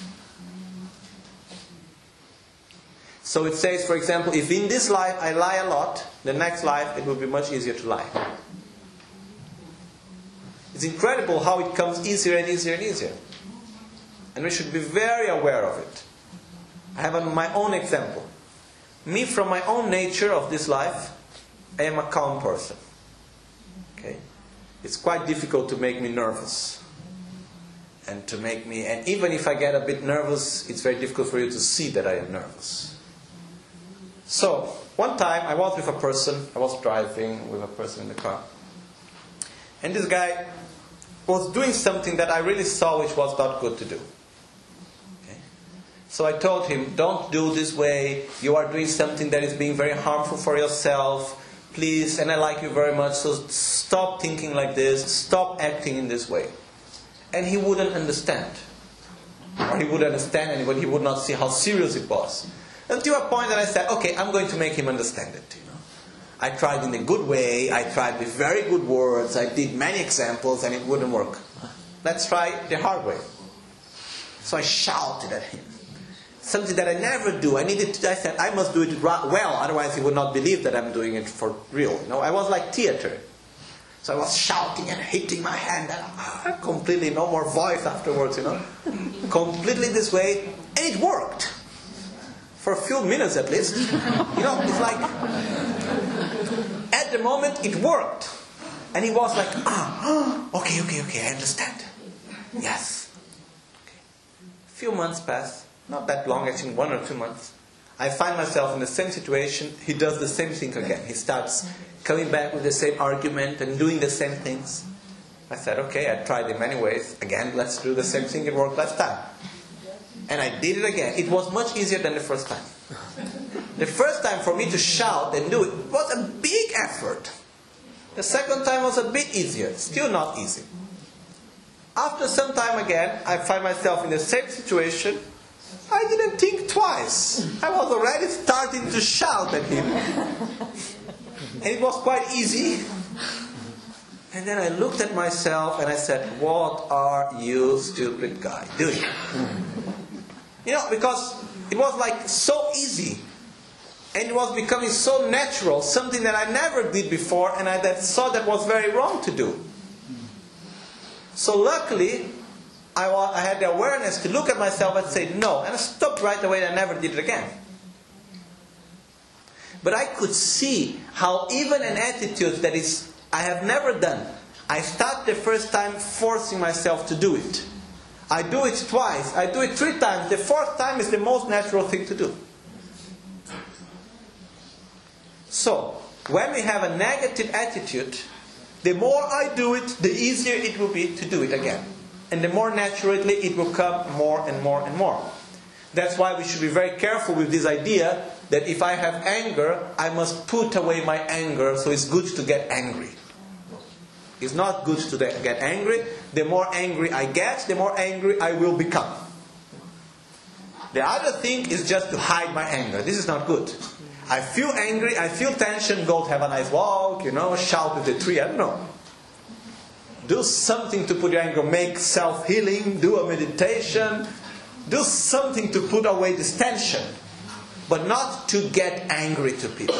So it says, for example, if in this life I lie a lot, the next life it will be much easier to lie. It's incredible how it comes easier and easier and easier. And we should be very aware of it. I have a, my own example. Me, from my own nature of this life, I am a calm person. Okay? It's quite difficult to make me nervous. And to make me, and even if I get a bit nervous, it's very difficult for you to see that I am nervous. So, one time I was with a person, I was driving with a person in the car. And this guy was doing something that I really saw which was not good to do. Okay? So I told him, don't do this way, you are doing something that is being very harmful for yourself, please, and I like you very much, so stop thinking like this, stop acting in this way. And he wouldn't understand. Or he would understand, but he would not see how serious it was. Until a point that I said, okay, I'm going to make him understand it. You know, I tried in a good way, I tried with very good words, I did many examples, and it wouldn't work. Let's try the hard way. So I shouted at him. Something that I never do. I needed to, I said, I must do it well, otherwise he would not believe that I'm doing it for real. You know, I was like theater. So I was shouting and hitting my hand, and ah, completely no more voice afterwards, you know. Completely this way, and it worked. For a few minutes at least. You know, it's like, at the moment it worked. And he was like, ah, okay, okay, okay, I understand. Yes. Okay. A few months pass, not that long, I think one or two months. I find myself in the same situation, he does the same thing again. He starts coming back with the same argument and doing the same things. I said, okay, I tried in many ways. Again, let's do the same thing, it worked last time. And I did it again. It was much easier than the first time. The first time for me to shout and do it was a big effort. The second time was a bit easier. Still not easy. After some time again, I find myself in the same situation. I didn't think twice. I was already starting to shout at him. And it was quite easy. And then I looked at myself and I said, what are you, stupid guy, doing? You know, because it was like so easy. And it was becoming so natural, something that I never did before, and I that saw that was very wrong to do. So luckily, I, was, I had the awareness to look at myself and say no, and I stopped right away and I never did it again. But I could see how even an attitude that is I have never done, I start the first time forcing myself to do it. I do it twice, I do it three times, the fourth time is the most natural thing to do. So, when we have a negative attitude, the more I do it, the easier it will be to do it again. And the more naturally it will come more and more and more. That's why we should be very careful with this idea that if I have anger, I must put away my anger, so it's good to get angry. It's not good to get angry. The more angry I get, the more angry I will become. The other thing is just to hide my anger. This is not good. I feel angry, I feel tension, go have a nice walk, you know, shout at the tree, I don't know. Do something to put your anger, make self-healing, do a meditation, do something to put away this tension, but not to get angry to people.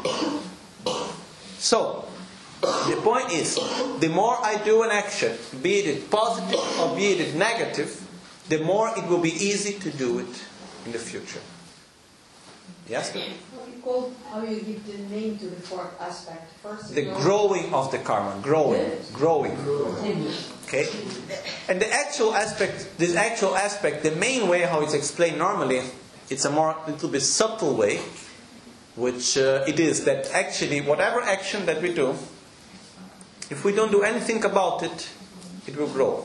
So, the point is, the more I do an action, be it positive or be it negative, the more it will be easy to do it in the future. Yes? What you call, how you give the name to the fourth aspect? First, the growing of the karma. Growing. Yes. Growing. Okay? And the actual aspect, this actual aspect, the main way how it's explained normally, it's a more, little bit subtle way, which uh, it is that actually whatever action that we do, if we don't do anything about it, it will grow.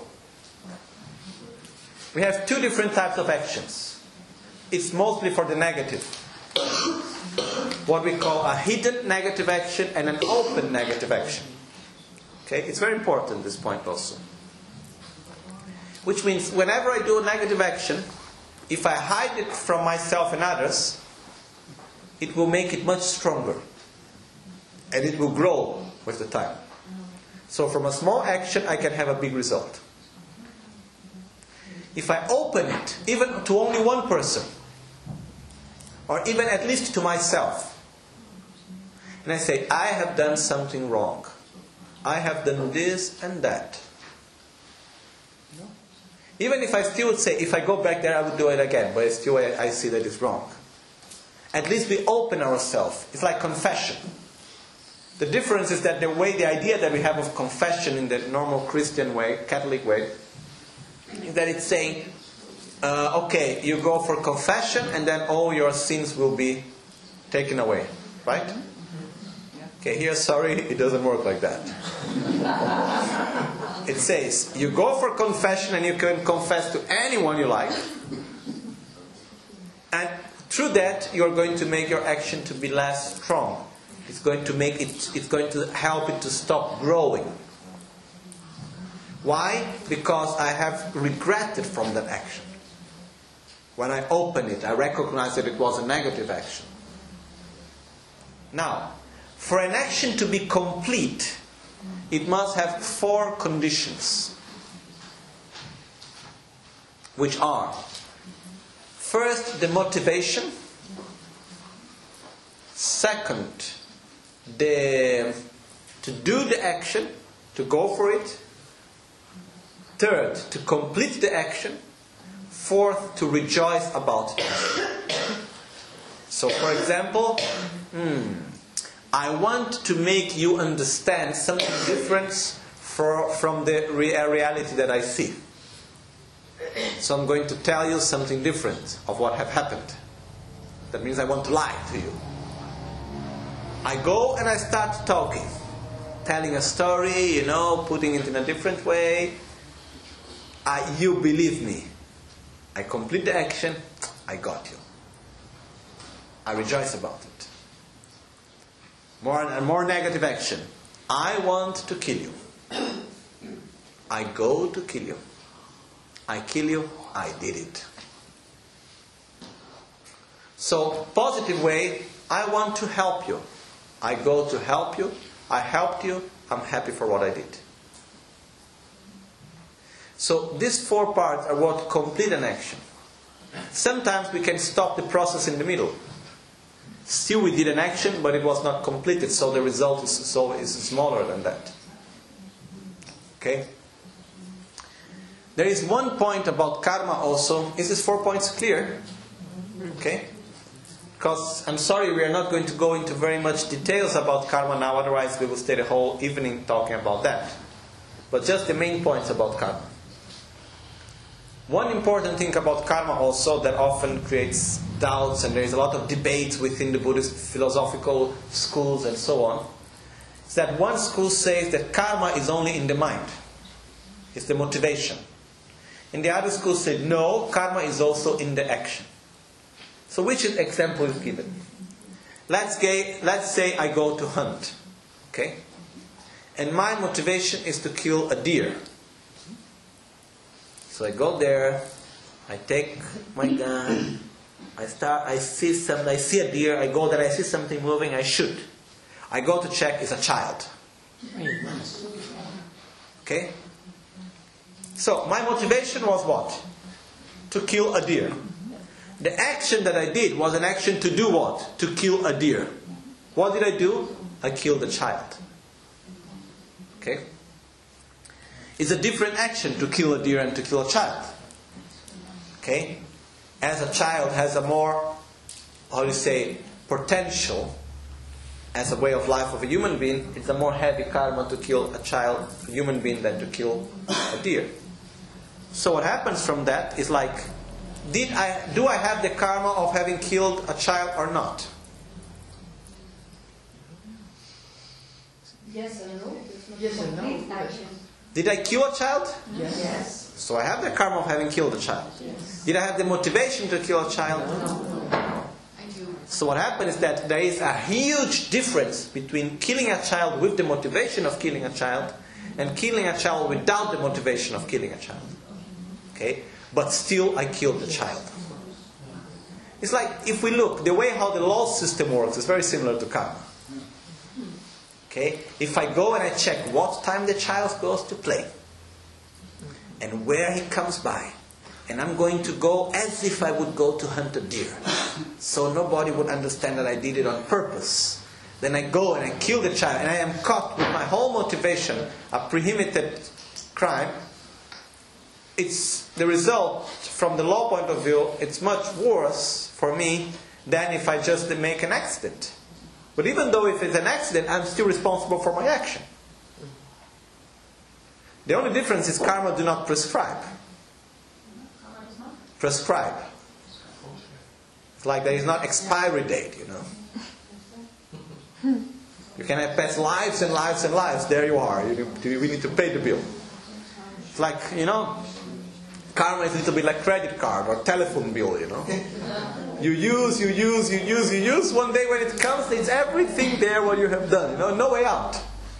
We have two different types of actions. It's mostly for the negative. What we call a hidden negative action and an open negative action. Okay, it's very important, this point also. Which means whenever I do a negative action, if I hide it from myself and others, it will make it much stronger. And it will grow with the time. So from a small action I can have a big result. If I open it, even to only one person, or even at least to myself, and I say, I have done something wrong. I have done this and that. No. Even if I still would say, if I go back there, I would do it again, but still I, I see that it's wrong. At least we open ourselves. It's like confession. The difference is that the way, the idea that we have of confession in the normal Christian way, Catholic way, is that it's saying, uh, okay, you go for confession and then all your sins will be taken away. Right? Okay, here, sorry, it doesn't work like that. It says, you go for confession and you can confess to anyone you like. And through that, you're going to make your action to be less strong. It's going to make it, it's going to help it to stop growing. Why? Because I have regretted from that action. When I open it, I recognize that it was a negative action. Now, for an action to be complete, it must have four conditions. Which are, first, the motivation. Second, the to do the action, to go for it. Third, to complete the action. Fourth, to rejoice about it. So, for example, hmm, I want to make you understand something different for, from the re- reality that I see. So I'm going to tell you something different of what have happened. That means I want to lie to you. I go and I start talking, telling a story, you know, putting it in a different way. I, you believe me. I complete the action, I got you. I rejoice about it. More and more negative action. I want to kill you. I go to kill you. I kill you, I did it. So, positive way, I want to help you. I go to help you. I helped you. I'm happy for what I did. So these four parts are what complete an action. Sometimes we can stop the process in the middle. Still we did an action, but it was not completed, so the result is, so is smaller than that. Okay? There is one point about karma also. Is this four points clear? Okay? Because, I'm sorry, we are not going to go into very much details about karma now, otherwise we will stay the whole evening talking about that. But just the main points about karma. One important thing about karma also that often creates doubts, and there is a lot of debate within the Buddhist philosophical schools and so on, is that one school says that karma is only in the mind. It's the motivation. And the other school said, no, karma is also in the action. So which example is given? Let's, get, let's say I go to hunt. Okay? And my motivation is to kill a deer. So I go there, I take my gun, I start, I see some, I see a deer, I go there, I see something moving, I shoot. I go to check, it's a child. Okay? So my motivation was what? To kill a deer. The action that I did was an action to do what? To kill a deer. What did I do? I killed a child. Okay? It's a different action to kill a deer and to kill a child. Okay? As a child has a more, how do you say, potential as a way of life of a human being, it's a more heavy karma to kill a child, a human being, than to kill a deer. So what happens from that is like, did I do I have the karma of having killed a child or not? Yes and no. Yes and no. Action. Did I kill a child? Yes. Yes. So I have the karma of having killed a child. Yes. Did I have the motivation to kill a child? No. So what happened is that there is a huge difference between killing a child with the motivation of killing a child and killing a child without the motivation of killing a child. Okay? But still I killed the child. It's like, if we look, the way how the law system works is very similar to karma. Okay? If I go and I check what time the child goes to play and where he comes by, and I'm going to go as if I would go to hunt a deer, so nobody would understand that I did it on purpose. Then I go and I kill the child, and I am caught with my whole motivation, a prohibited crime. It's the result, from the law point of view, it's much worse for me than if I just make an accident. But even though if it's an accident, I'm still responsible for my action. The only difference is karma do not prescribe. Prescribe. It's like there is not expiry date, you know. You can have past lives and lives and lives. There you are. You, we need to pay the bill. It's like, you know, karma is a little bit like credit card or telephone bill, you know. You use, you use, you use, you use. One day when it comes, it's everything there what you have done. You know, no way out.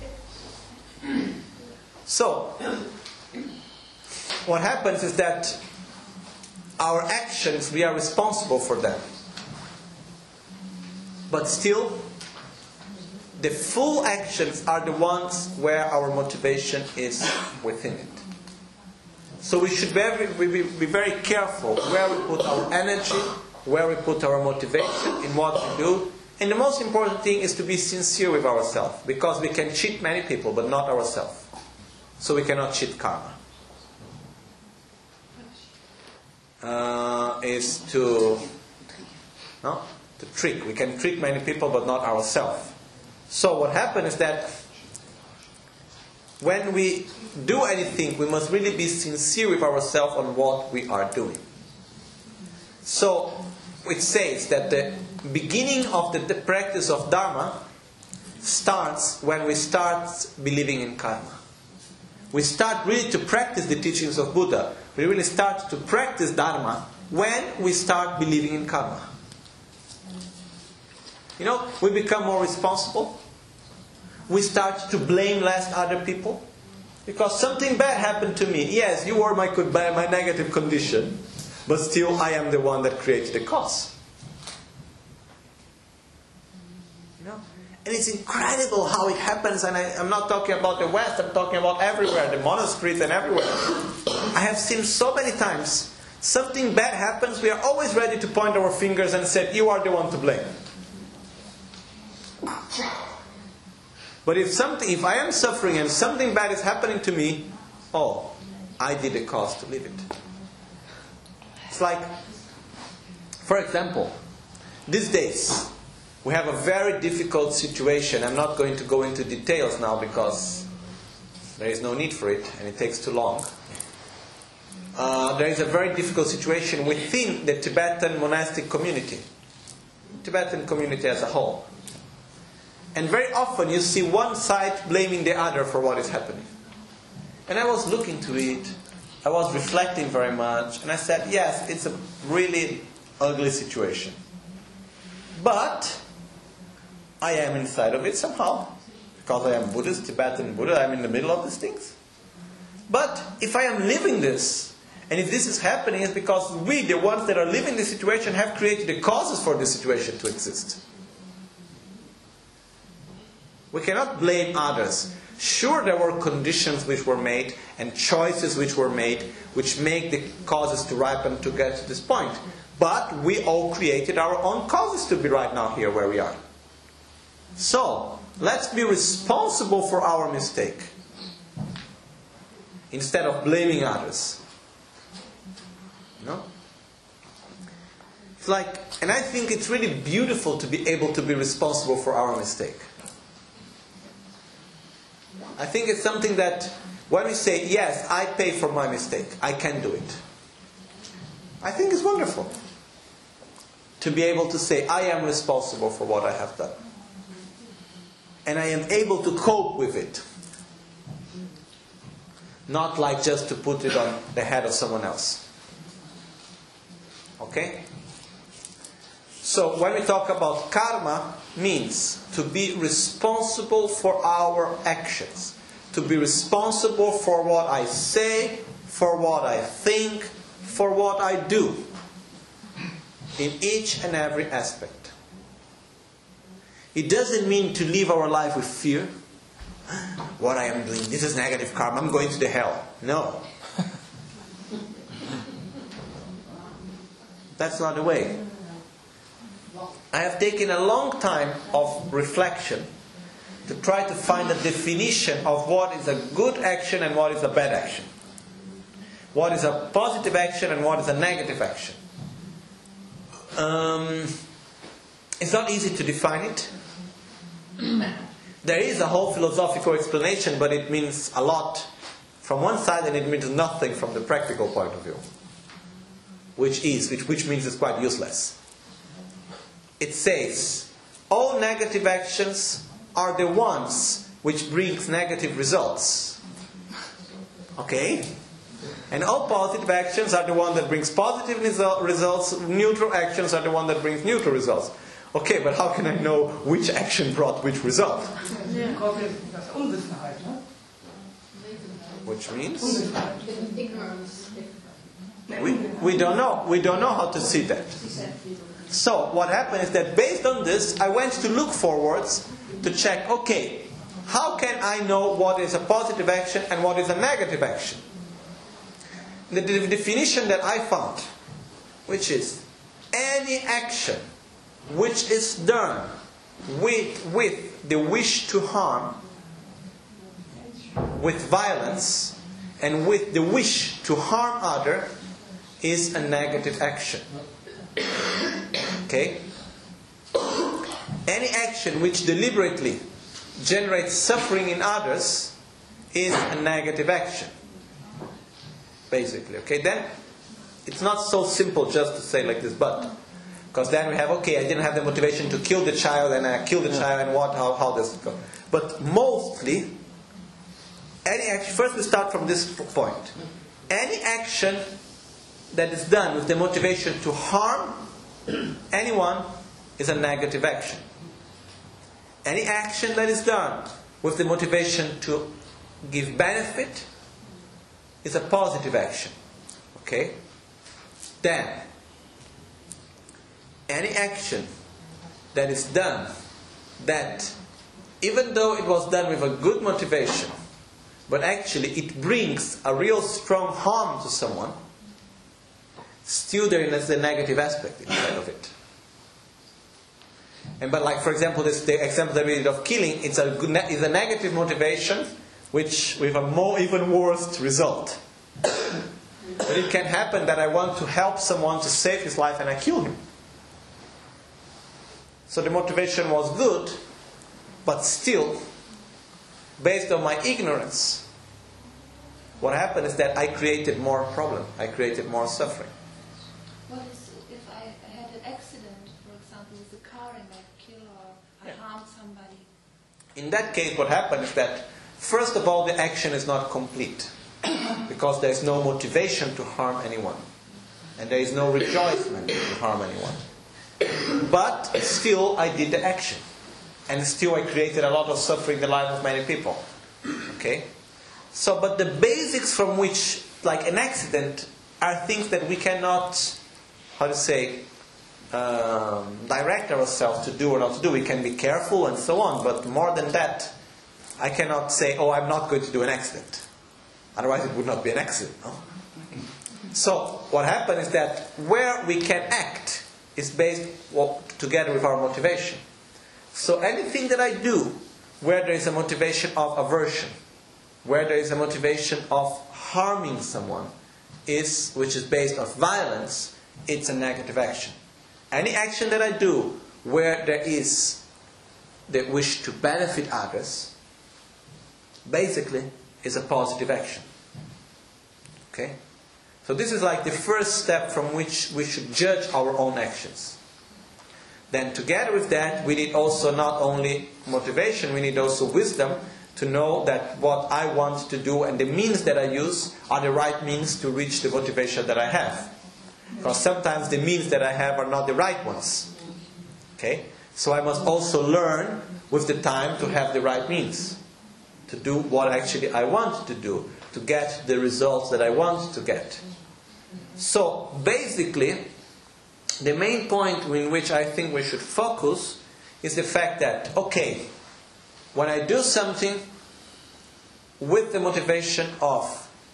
So, what happens is that our actions, we are responsible for them. But still, the full actions are the ones where our motivation is within it. So we should be, be, be very careful where we put our energy, where we put our motivation, in what we do. And the most important thing is to be sincere with ourselves. Because we can cheat many people, but not ourselves. So we cannot cheat karma. Uh, is to no to trick. We can trick many people, but not ourselves. So what happens is that when we do anything, we must really be sincere with ourselves on what we are doing. So it says that the beginning of the, the practice of Dharma starts when we start believing in karma. We start really to practice the teachings of Buddha. We really start to practice Dharma when we start believing in karma. You know, we become more responsible. We start to blame less other people. Because something bad happened to me. Yes, you were my, my negative condition. But still I am the one that created the cause. You know? And it's incredible how it happens, and I, I'm not talking about the West, I'm talking about everywhere, the monasteries and everywhere. I have seen so many times, something bad happens, we are always ready to point our fingers and say, you are the one to blame. But if something, if I am suffering and something bad is happening to me, oh, I did the cause to live it. It's like, for example, these days, we have a very difficult situation. I'm not going to go into details now because there is no need for it and it takes too long. Uh, there is a very difficult situation within the Tibetan monastic community. Tibetan community as a whole. And very often you see one side blaming the other for what is happening. And I was looking to it. I was reflecting very much. And I said, yes, it's a really ugly situation. But I am inside of it somehow. Because I am Buddhist, Tibetan Buddha, I'm in the middle of these things. But if I am living this, and if this is happening, it's because we, the ones that are living this situation, have created the causes for this situation to exist. We cannot blame others. Sure, there were conditions which were made and choices which were made which make the causes to ripen to get to this point. But we all created our own causes to be right now here where we are. So, let's be responsible for our mistake instead of blaming others. You know? It's like, and I think it's really beautiful to be able to be responsible for our mistake. I think it's something that when we say, yes, I pay for my mistake, I can do it. I think it's wonderful to be able to say, I am responsible for what I have done. And I am able to cope with it. Not like just to put it on the head of someone else. Okay? So when we talk about karma, means to be responsible for our actions. To be responsible for what I say, for what I think, for what I do. In each and every aspect. It doesn't mean to live our life with fear. What I am doing, this is negative karma, I'm going to the hell. No. That's not the way. I have taken a long time of reflection to try to find a definition of what is a good action and what is a bad action. What is a positive action and what is a negative action. Um, it's not easy to define it. There is a whole philosophical explanation, but it means a lot from one side and it means nothing from the practical point of view. Which is, which, which means it's quite useless. It says, all negative actions are the ones which brings negative results. Okay? And all positive actions are the one that brings positive result, results. Neutral actions are the one that brings neutral results. Okay, but how can I know which action brought which result? Which means? Ignorance. We, we don't know. We don't know how to see that. So what happened is that based on this, I went to look forwards to check, okay, how can I know what is a positive action and what is a negative action? The, the definition that I found, which is any action which is done with, with the wish to harm, with violence, and with the wish to harm other, is a negative action. Okay? Any action which deliberately generates suffering in others is a negative action. Basically. Okay? Then it's not so simple just to say like this, but because then we have, okay, I didn't have the motivation to kill the child and I killed the child and what, how, how does it go? But mostly, any action, first we start from this point. Any action that is done with the motivation to harm anyone is a negative action. Any action that is done with the motivation to give benefit is a positive action. Okay? Then, any action that is done that even though it was done with a good motivation, but actually it brings a real strong harm to someone, still there is a negative aspect inside of it. And but like for example, this the example that we did of killing, it's a good, it's a negative motivation, which with a more even worse result. But it can happen that I want to help someone to save his life and I kill him. So the motivation was good, but still, based on my ignorance, what happened is that I created more problem. I created more suffering. What is if I had an accident, for example, with a car and I kill or I Yeah. harm somebody? In that case, what happened is that, first of all, the action is not complete. Because there is no motivation to harm anyone. And there is no rejoicement to harm anyone. But still, I did the action. And still, I created a lot of suffering in the life of many people. Okay? So, but the basics from which, like an accident, are things that we cannot, how to say, um, direct ourselves to do or not to do. We can be careful and so on. But more than that, I cannot say, oh, I'm not going to do an accident. Otherwise it would not be an accident, no? So, what happened is that where we can act is based well, together with our motivation. So anything that I do where there is a motivation of aversion, where there is a motivation of harming someone, is which is based on violence, it's a negative action. Any action that I do where there is the wish to benefit others, basically is a positive action. Okay? So this is like the first step from which we should judge our own actions. Then together with that, we need also not only motivation, we need also wisdom to know that what I want to do and the means that I use are the right means to reach the motivation that I have. Because sometimes the means that I have are not the right ones. Okay? So I must also learn with the time to have the right means. To do what actually I want to do, to get the results that I want to get. So basically, the main point in which I think we should focus is the fact that, okay, when I do something with the motivation of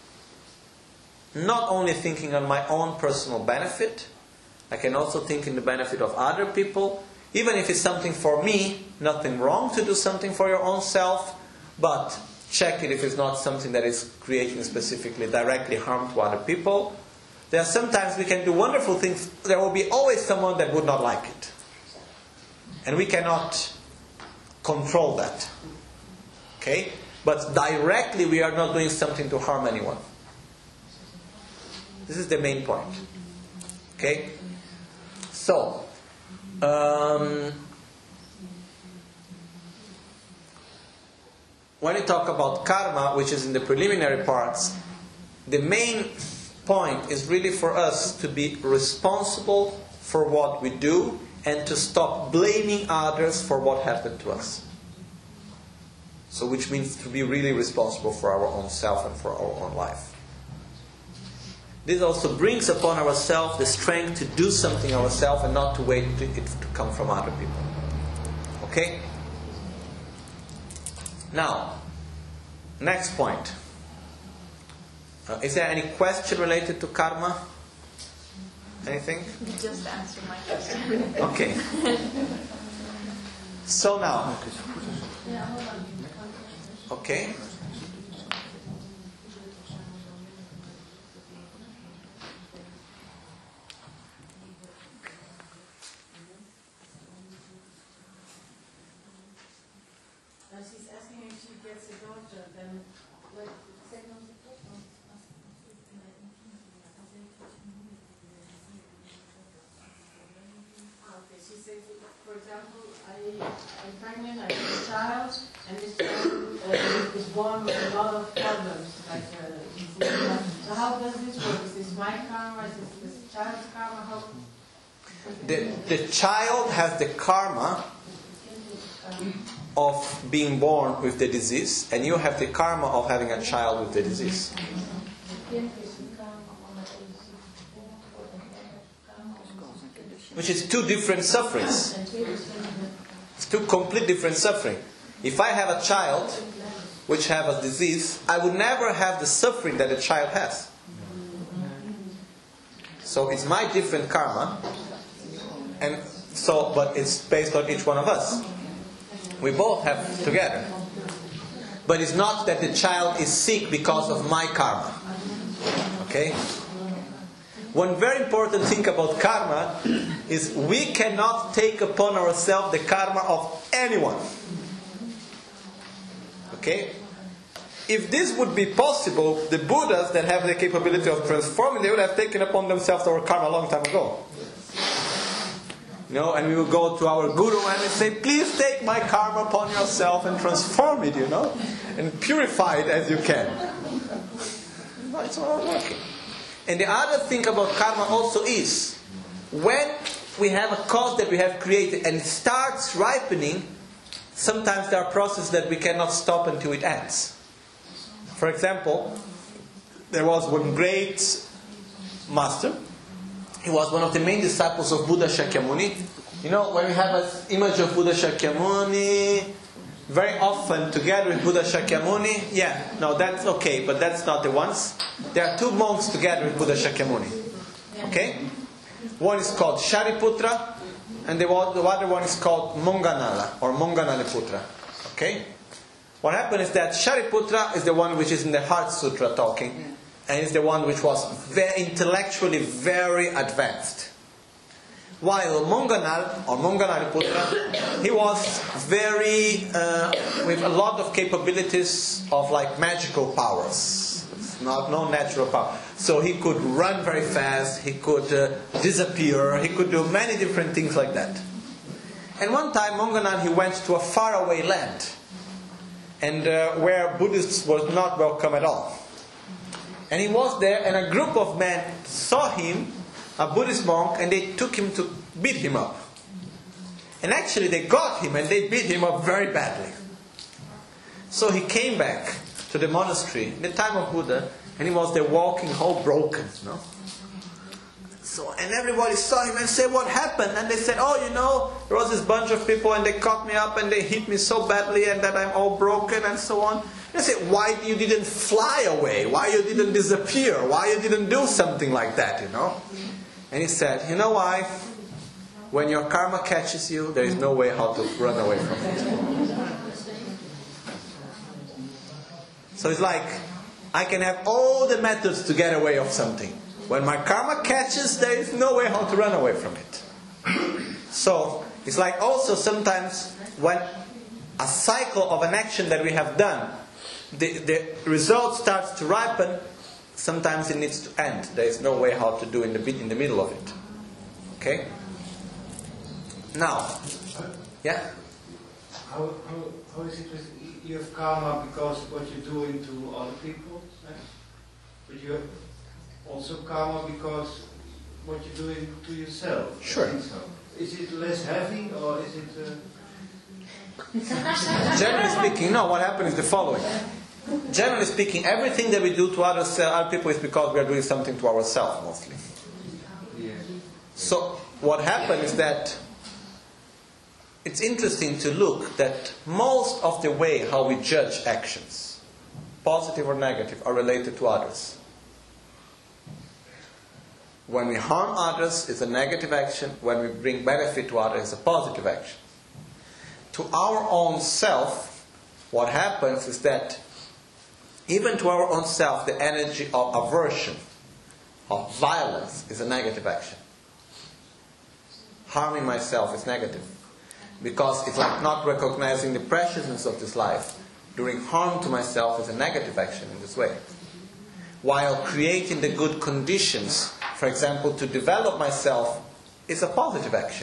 not only thinking on my own personal benefit, I can also think in the benefit of other people. Even if it's something for me, nothing wrong to do something for your own self. But check it if it's not something that is creating specifically directly harm to other people. There are sometimes we can do wonderful things. There will be always someone that would not like it. And we cannot control that. Okay? But directly we are not doing something to harm anyone. This is the main point. Okay? So, um... when we talk about karma, which is in the preliminary parts, the main point is really for us to be responsible for what we do and to stop blaming others for what happened to us. So which means to be really responsible for our own self and for our own life. This also brings upon ourselves the strength to do something ourselves and not to wait to it to come from other people. Okay? Now, next point. Uh, is there any question related to karma? Anything? You just answered my question. Okay. So now. Okay. She's asking if she gets a daughter, then what? Okay, she says, for example, I, I'm pregnant, I have a child, and this child uh, is born with a lot of problems, like uh, so how does this work? Is this my karma? Is this this child's karma? How? The, the child has the karma of being born with the disease, and you have the karma of having a child with the disease. Which is two different sufferings. It's two complete different suffering. If I have a child which have a disease, I would never have the suffering that a child has. So it's my different karma, and so, but it's based on each one of us. We both have together. But it's not that the child is sick because of my karma. Okay? One very important thing about karma is we cannot take upon ourselves the karma of anyone. Okay? If this would be possible, the Buddhas that have the capability of transforming, they would have taken upon themselves our karma a long time ago. You know, and we will go to our guru and we say, please take my karma upon yourself and transform it, you know, and purify it as you can. No, it's not working. And the other thing about karma also is, when we have a cause that we have created and it starts ripening, sometimes there are processes that we cannot stop until it ends. For example, there was one great master. He was one of the main disciples of Buddha Shakyamuni. You know, when we have an image of Buddha Shakyamuni, very often together with Buddha Shakyamuni, yeah, no, that's okay, but that's not the ones. There are two monks together with Buddha Shakyamuni. Okay? One is called Shariputra, and the other one is called Monganala, or Monganaliputra. Okay? What happened is that Shariputra is the one which is in the Heart Sutra talking, and is the one which was very intellectually very advanced. While Monganal, or Monganaliputra, he was very, uh, with a lot of capabilities of like magical powers. It's not, no natural power. So he could run very fast, he could uh, disappear, he could do many different things like that. And one time Monganal, he went to a faraway land, and uh, where Buddhists were not welcome at all. And he was there, and a group of men saw him, a Buddhist monk, and they took him to beat him up. And actually they got him, and they beat him up very badly. So he came back to the monastery in the time of Buddha, and he was there walking all broken, you know. So, and everybody saw him and said, what happened? And they said, oh, you know, there was this bunch of people, and they caught me up, and they hit me so badly, and that I'm all broken, and so on. I said, why you didn't fly away? Why you didn't disappear? Why you didn't do something like that, you know? And he said, you know why? When your karma catches you, there is no way how to run away from it. So it's like, I can have all the methods to get away of something. When my karma catches, there is no way how to run away from it. So, it's like also sometimes when a cycle of an action that we have done, the, the result starts to ripen, sometimes it needs to end. There is no way how to do in the in the middle of it. Okay? Now, yeah? How, how, how is it with you have karma because what you're doing to other people? Eh? But you have also karma because what you're doing to yourself? Sure. I think so. Is it less heavy or is it... Uh... Generally speaking, no, what happens is the following. Generally speaking, everything that we do to others, uh, other people is because we are doing something to ourselves mostly. Yeah. So what happens is that it's interesting to look that most of the way how we judge actions, positive or negative, are related to others. When we harm others, it's a negative action. When we bring benefit to others, it's a positive action. To our own self, what happens is that even to our own self, the energy of aversion, of violence, is a negative action. Harming myself is negative. Because it's like not recognizing the preciousness of this life. Doing harm to myself is a negative action in this way. While creating the good conditions, for example, to develop myself, is a positive action.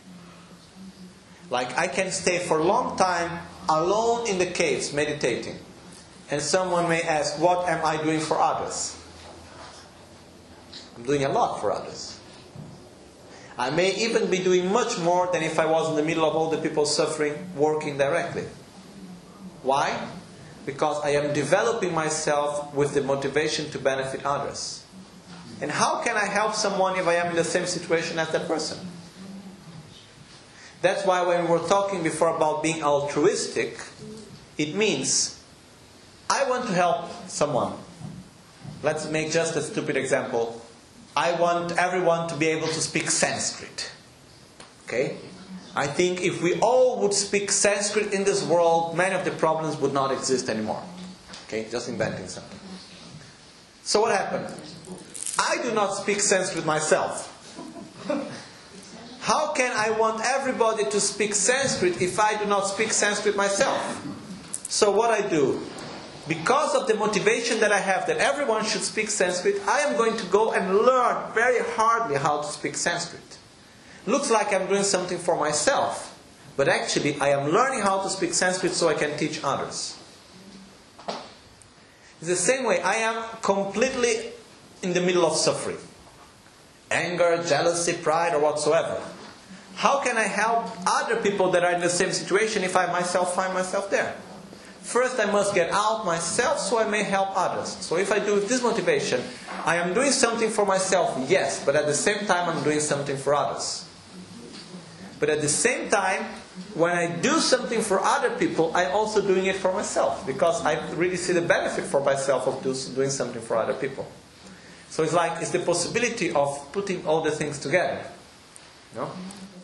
Like I can stay for a long time alone in the caves meditating. And someone may ask, what am I doing for others? I'm doing a lot for others. I may even be doing much more than if I was in the middle of all the people suffering, working directly. Why? Because I am developing myself with the motivation to benefit others. And how can I help someone if I am in the same situation as that person? That's why when we were talking before about being altruistic, It means I want to help someone. Let's make just a stupid example. I want everyone to be able to speak Sanskrit. Okay? I think if we all would speak Sanskrit in this world, many of the problems would not exist anymore. Okay? Just inventing something. So what happened? I do not speak Sanskrit myself. How can I want everybody to speak Sanskrit if I do not speak Sanskrit myself? So what I do, because of the motivation that I have that everyone should speak Sanskrit, I am going to go and learn very hardly how to speak Sanskrit. Looks like I'm doing something for myself, but actually I am learning how to speak Sanskrit so I can teach others. It's the same way. I am completely in the middle of suffering. Anger, jealousy, pride, or whatsoever. How can I help other people that are in the same situation if I myself find myself there? First I must get out myself so I may help others. So if I do with this motivation, I am doing something for myself, yes, but at the same time I'm doing something for others. But at the same time, when I do something for other people, I'm also doing it for myself. Because I really see the benefit for myself of doing something for other people. So it's like, it's the possibility of putting all the things together. You know?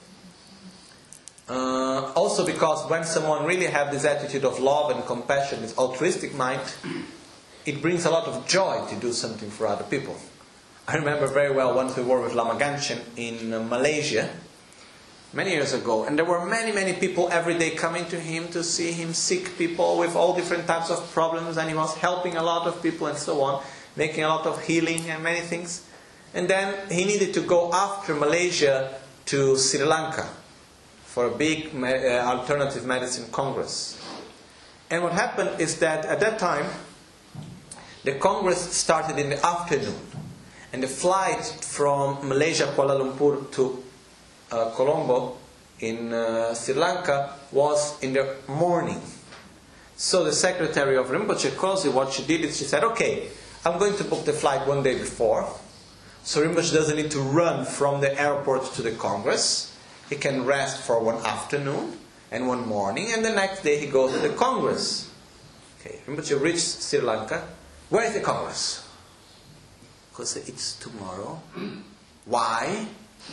Uh, also because when someone really has this attitude of love and compassion, this altruistic mind, it brings a lot of joy to do something for other people. I remember very well once we were with Lama Ganchen in uh, Malaysia, many years ago, and there were many, many people every day coming to him to see him, sick people with all different types of problems, and he was helping a lot of people and so on, making a lot of healing and many things. And then he needed to go after Malaysia to Sri Lanka for a big uh, alternative medicine congress. And what happened is that at that time, the congress started in the afternoon. And the flight from Malaysia, Kuala Lumpur to uh, Colombo in uh, Sri Lanka was in the morning. So the secretary of Rinpoche Kosi, what she did is she said, okay, I'm going to book the flight one day before. So Rinpoche doesn't need to run from the airport to the congress. He can rest for one afternoon and one morning, and the next day he goes to the congress. Okay, Rinpoche reached Sri Lanka. Where is the congress? Because it's tomorrow. Why?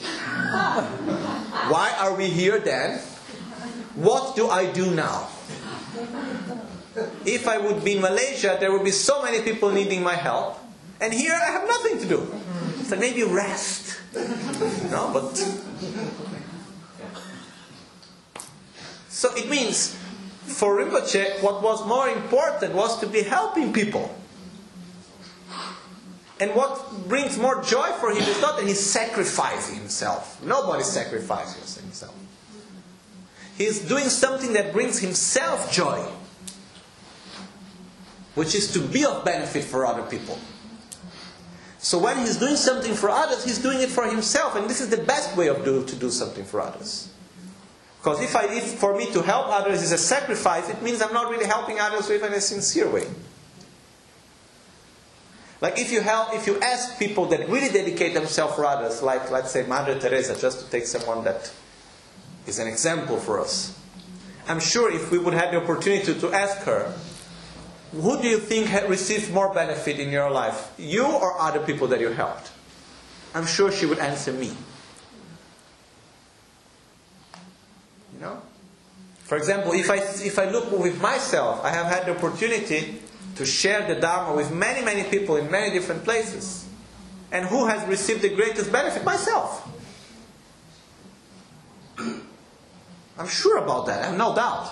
Why are we here then? What do I do now? If I would be in Malaysia, there would be so many people needing my help. And here I have nothing to do. So maybe rest. No, but... So it means, for Rinpoche, what was more important was to be helping people. And what brings more joy for him is not that he's sacrificing himself. Nobody sacrifices himself. He's doing something that brings himself joy, which is to be of benefit for other people. So when he's doing something for others, he's doing it for himself. And this is the best way of do, to do something for others. Because if, I, if for me to help others is a sacrifice, it means I'm not really helping others in a sincere way. Like if you help, if you ask people that really dedicate themselves for others, like let's say Mother Teresa, just to take someone that is an example for us. I'm sure if we would have the opportunity to, to ask her, who do you think received more benefit in your life? You or other people that you helped? I'm sure she would answer me. You know? For example, if I, if I look with myself, I have had the opportunity to share the Dharma with many, many people in many different places. And who has received the greatest benefit? Myself. I'm sure about that. I have no doubt.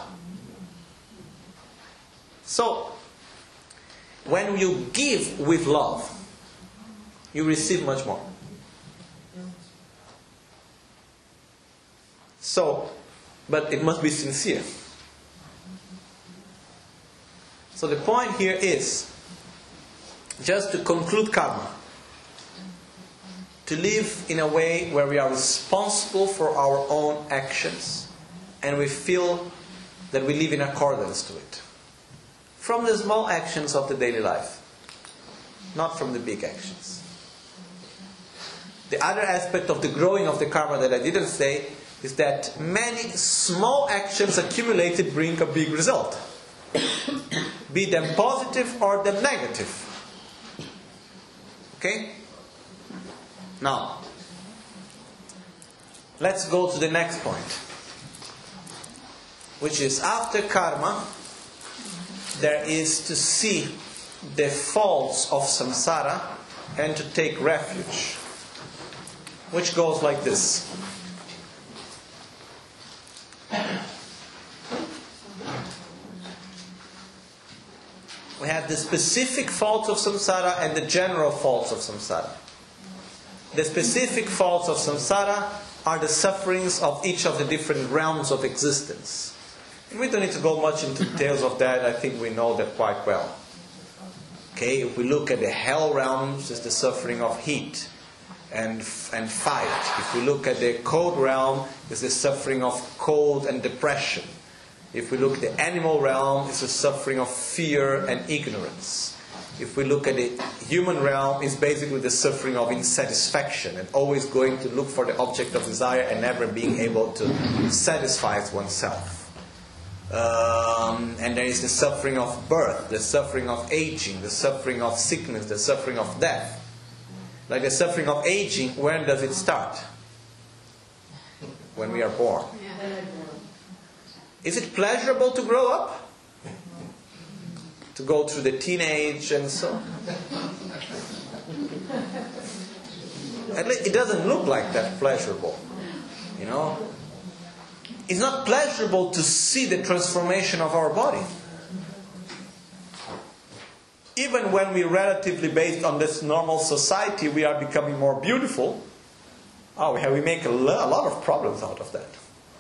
So, when you give with love, you receive much more. So, but it must be sincere. So the point here is, just to conclude karma, to live in a way where we are responsible for our own actions and we feel that we live in accordance to it. From the small actions of the daily life, not from the big actions. The other aspect of the growing of the karma that I didn't say is that many small actions accumulated bring a big result. Be them positive or them negative. Okay? Now, let's go to the next point, which is after karma, there is to see the faults of samsara and to take refuge, which goes like this. We have the specific faults of samsara and the general faults of samsara. The specific faults of samsara are the sufferings of each of the different realms of existence. And we don't need to go much into details of that. I think we know that quite well. Okay, if we look at the hell realms, it's the suffering of heat and and fight. If we look at the cold realm, it's the suffering of cold and depression. If we look at the animal realm, it's the suffering of fear and ignorance. If we look at the human realm, it's basically the suffering of insatisfaction and always going to look for the object of desire and never being able to satisfy oneself. Um, and there is the suffering of birth, the suffering of aging, the suffering of sickness, the suffering of death. Like the suffering of aging, when does it start? When we are born. Is it pleasurable to grow up? To go through the teenage and so on? At least it doesn't look like that pleasurable. You know? It's not pleasurable to see the transformation of our body. Even when we relatively based on this normal society, we are becoming more beautiful. Oh, we, have, we make a lot of problems out of that.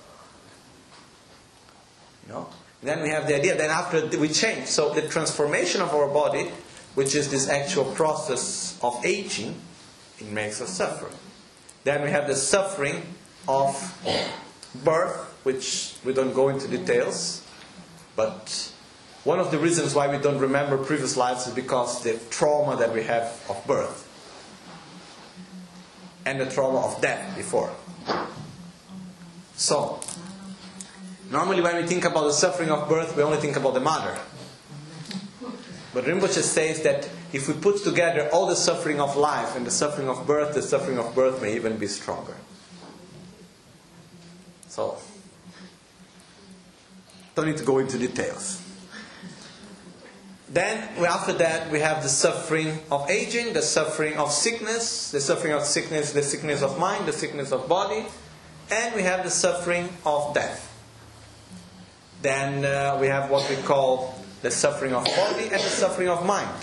You know? Then we have the idea that after we change, so the transformation of our body, which is this actual process of aging, it makes us suffer. Then we have the suffering of birth, which we don't go into details, but one of the reasons why we don't remember previous lives is because the trauma that we have of birth and the trauma of death before. So, normally when we think about the suffering of birth, we only think about the mother. But Rinpoche says that if we put together all the suffering of life and the suffering of birth, the suffering of birth may even be stronger. So, don't need to go into details. Then, after that, we have the suffering of aging, the suffering of sickness, the suffering of sickness, the sickness of mind, the sickness of body, and we have the suffering of death. Then uh, we have what we call the suffering of body and the suffering of mind.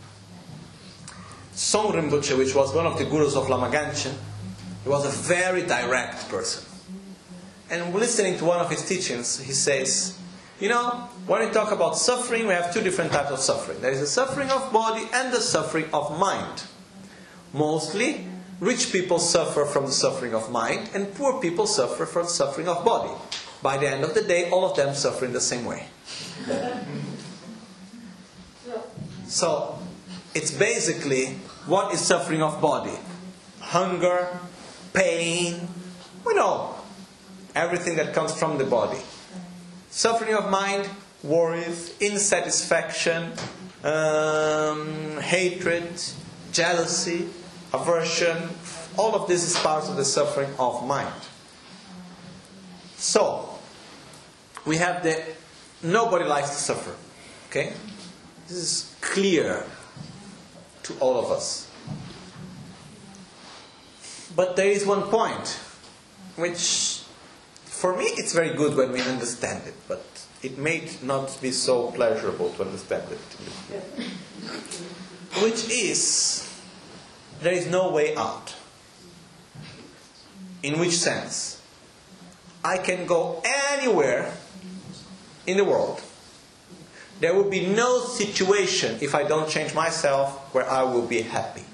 Song Rinpoche, which was one of the gurus of Lama Ganchen, he was a very direct person. And listening to one of his teachings, he says, you know, when we talk about suffering, we have two different types of suffering. There is the suffering of body and the suffering of mind. Mostly, rich people suffer from the suffering of mind, and poor people suffer from the suffering of body. By the end of the day, all of them suffer in the same way. So, it's basically, what is suffering of body? Hunger, pain, we know. Everything that comes from the body. Suffering of mind, worries, insatisfaction, um, hatred, jealousy, aversion. All of this is part of the suffering of mind. So, we have the, nobody likes to suffer. Okay? This is clear to all of us. But there is one point, which, for me, it's very good when we understand it, but it may not be so pleasurable to understand it. Which is, there is no way out. In which sense? I can go anywhere in the world. There will be no situation, if I don't change myself, where I will be happy.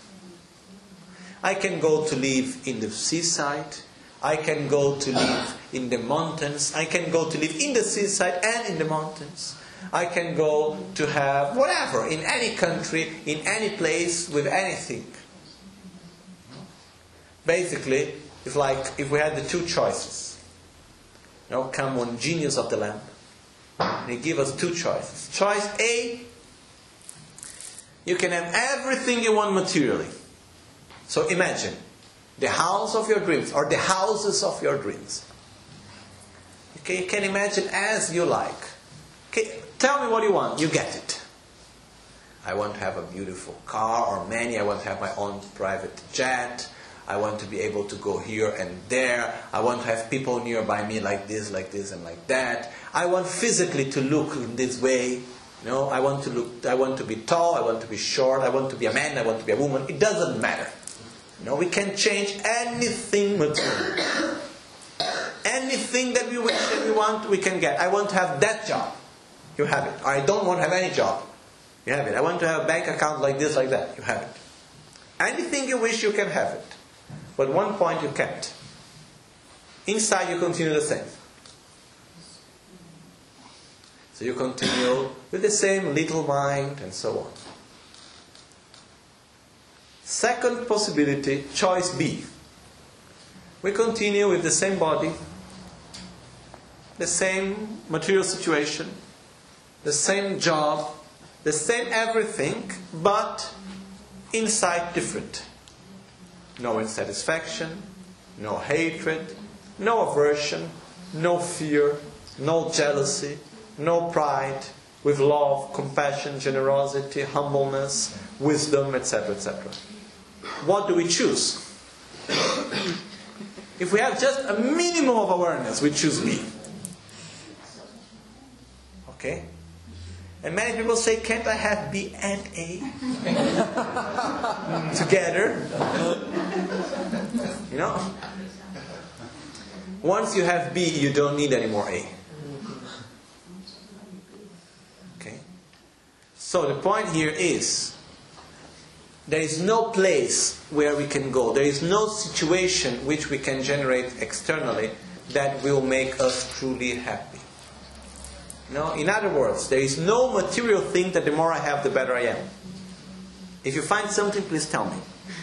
I can go to live in the seaside. I can go to live in the mountains. I can go to live in the seaside and in the mountains. I can go to have whatever, in any country, in any place, with anything. Basically, it's like if we had the two choices. You know, come one genius of the lamp. And he gives us two choices. Choice A, you can have everything you want materially. So imagine the house of your dreams, or the houses of your dreams. Okay, you can imagine as you like. Okay, tell me what you want, you get it. I want to have a beautiful car or many. I want to have my own private jet. I want to be able to go here and there. I want to have people nearby me like this, like this, and like that. I want physically to look in this way. You know, I want to look. I want to be tall. I want to be short. I want to be a man. I want to be a woman. It doesn't matter. You know, we can change anything material. Anything that we wish that we want, we can get. I want to have that job. You have it. I don't want to have any job. You have it. I want to have a bank account like this, like that. You have it. Anything you wish, you can have it. But one point you can't. Inside you continue the same. So you continue with the same little mind and so on. Second possibility, choice B. We continue with the same body, the same material situation, the same job, the same everything, but inside different. No insatisfaction, no hatred, no aversion, no fear, no jealousy, no pride, with love, compassion, generosity, humbleness, wisdom, et cetera, et cetera. What do we choose? If we have just a minimum of awareness, we choose B. Okay? And many people say, can't I have B and A together? You know? Once you have B, you don't need any more A. Okay? So the point here is, there is no place where we can go. There is no situation which we can generate externally that will make us truly happy. No? In other words, there is no material thing that the more I have, the better I am. If you find something, please tell me.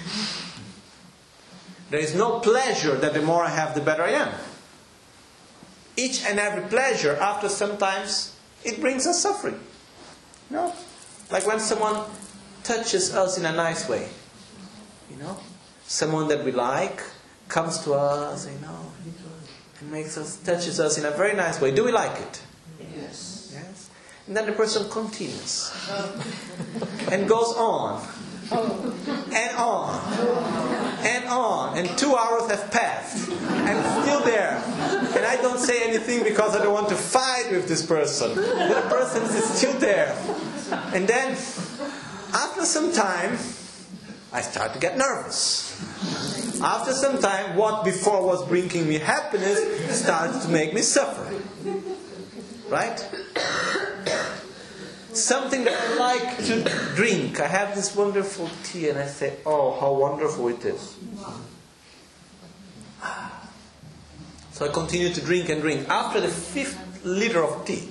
There is no pleasure that the more I have, the better I am. Each and every pleasure, after sometimes, it brings us suffering. No? Like when someone touches us in a nice way. You know? Someone that we like comes to us, you know, and makes us, touches us in a very nice way. Do we like it? Yes. Yes. And then the person continues. And goes on. And on. And on. And two hours have passed. I'm still there. And I don't say anything because I don't want to fight with this person. But the person is still there. And then, after some time, I start to get nervous. After some time, what before was bringing me happiness starts to make me suffer. Right? Something that I like to drink. I have this wonderful tea and I say, oh, how wonderful it is. So I continue to drink and drink. After the fifth liter of tea,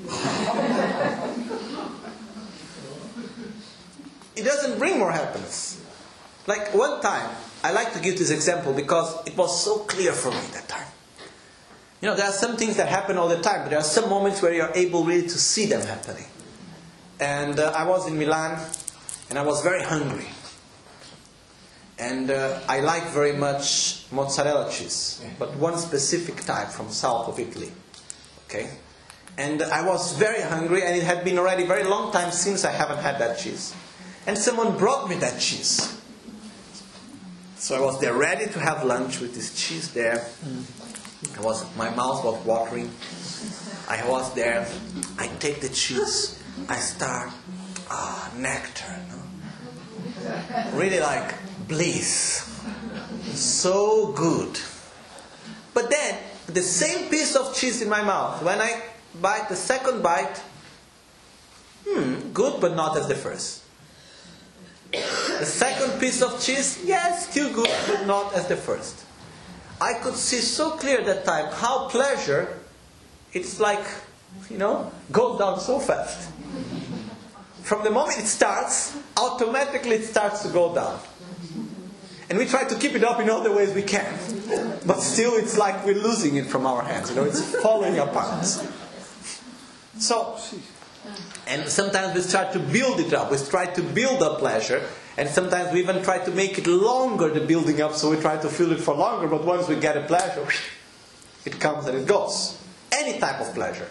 it doesn't bring more happiness. Like one time, I like to give this example because it was so clear for me that time. You know, there are some things that happen all the time, but there are some moments where you are able really to see them happening. And uh, I was in Milan, and I was very hungry. And uh, I like very much mozzarella cheese, but one specific type from south of Italy. Okay? And I was very hungry, and it had been already a very long time since I haven't had that cheese. And someone brought me that cheese. So I was there ready to have lunch with this cheese there. I was, my mouth was watering. I was there. I take the cheese. I start, ah, nectar. No? Really like bliss. So good. But then, the same piece of cheese in my mouth, when I bite the second bite, hmm, good but not as the first. The second piece of cheese, yes, still good, but not as the first. I could see so clear that time how pleasure, it's like, you know, goes down so fast. From the moment it starts, automatically it starts to go down. And we try to keep it up in all the ways we can. But still it's like we're losing it from our hands. You know, it's falling apart. So, and sometimes we try to build it up. We try to build up pleasure. And sometimes we even try to make it longer, the building up, so we try to feel it for longer. But once we get a pleasure, it comes and it goes. Any type of pleasure.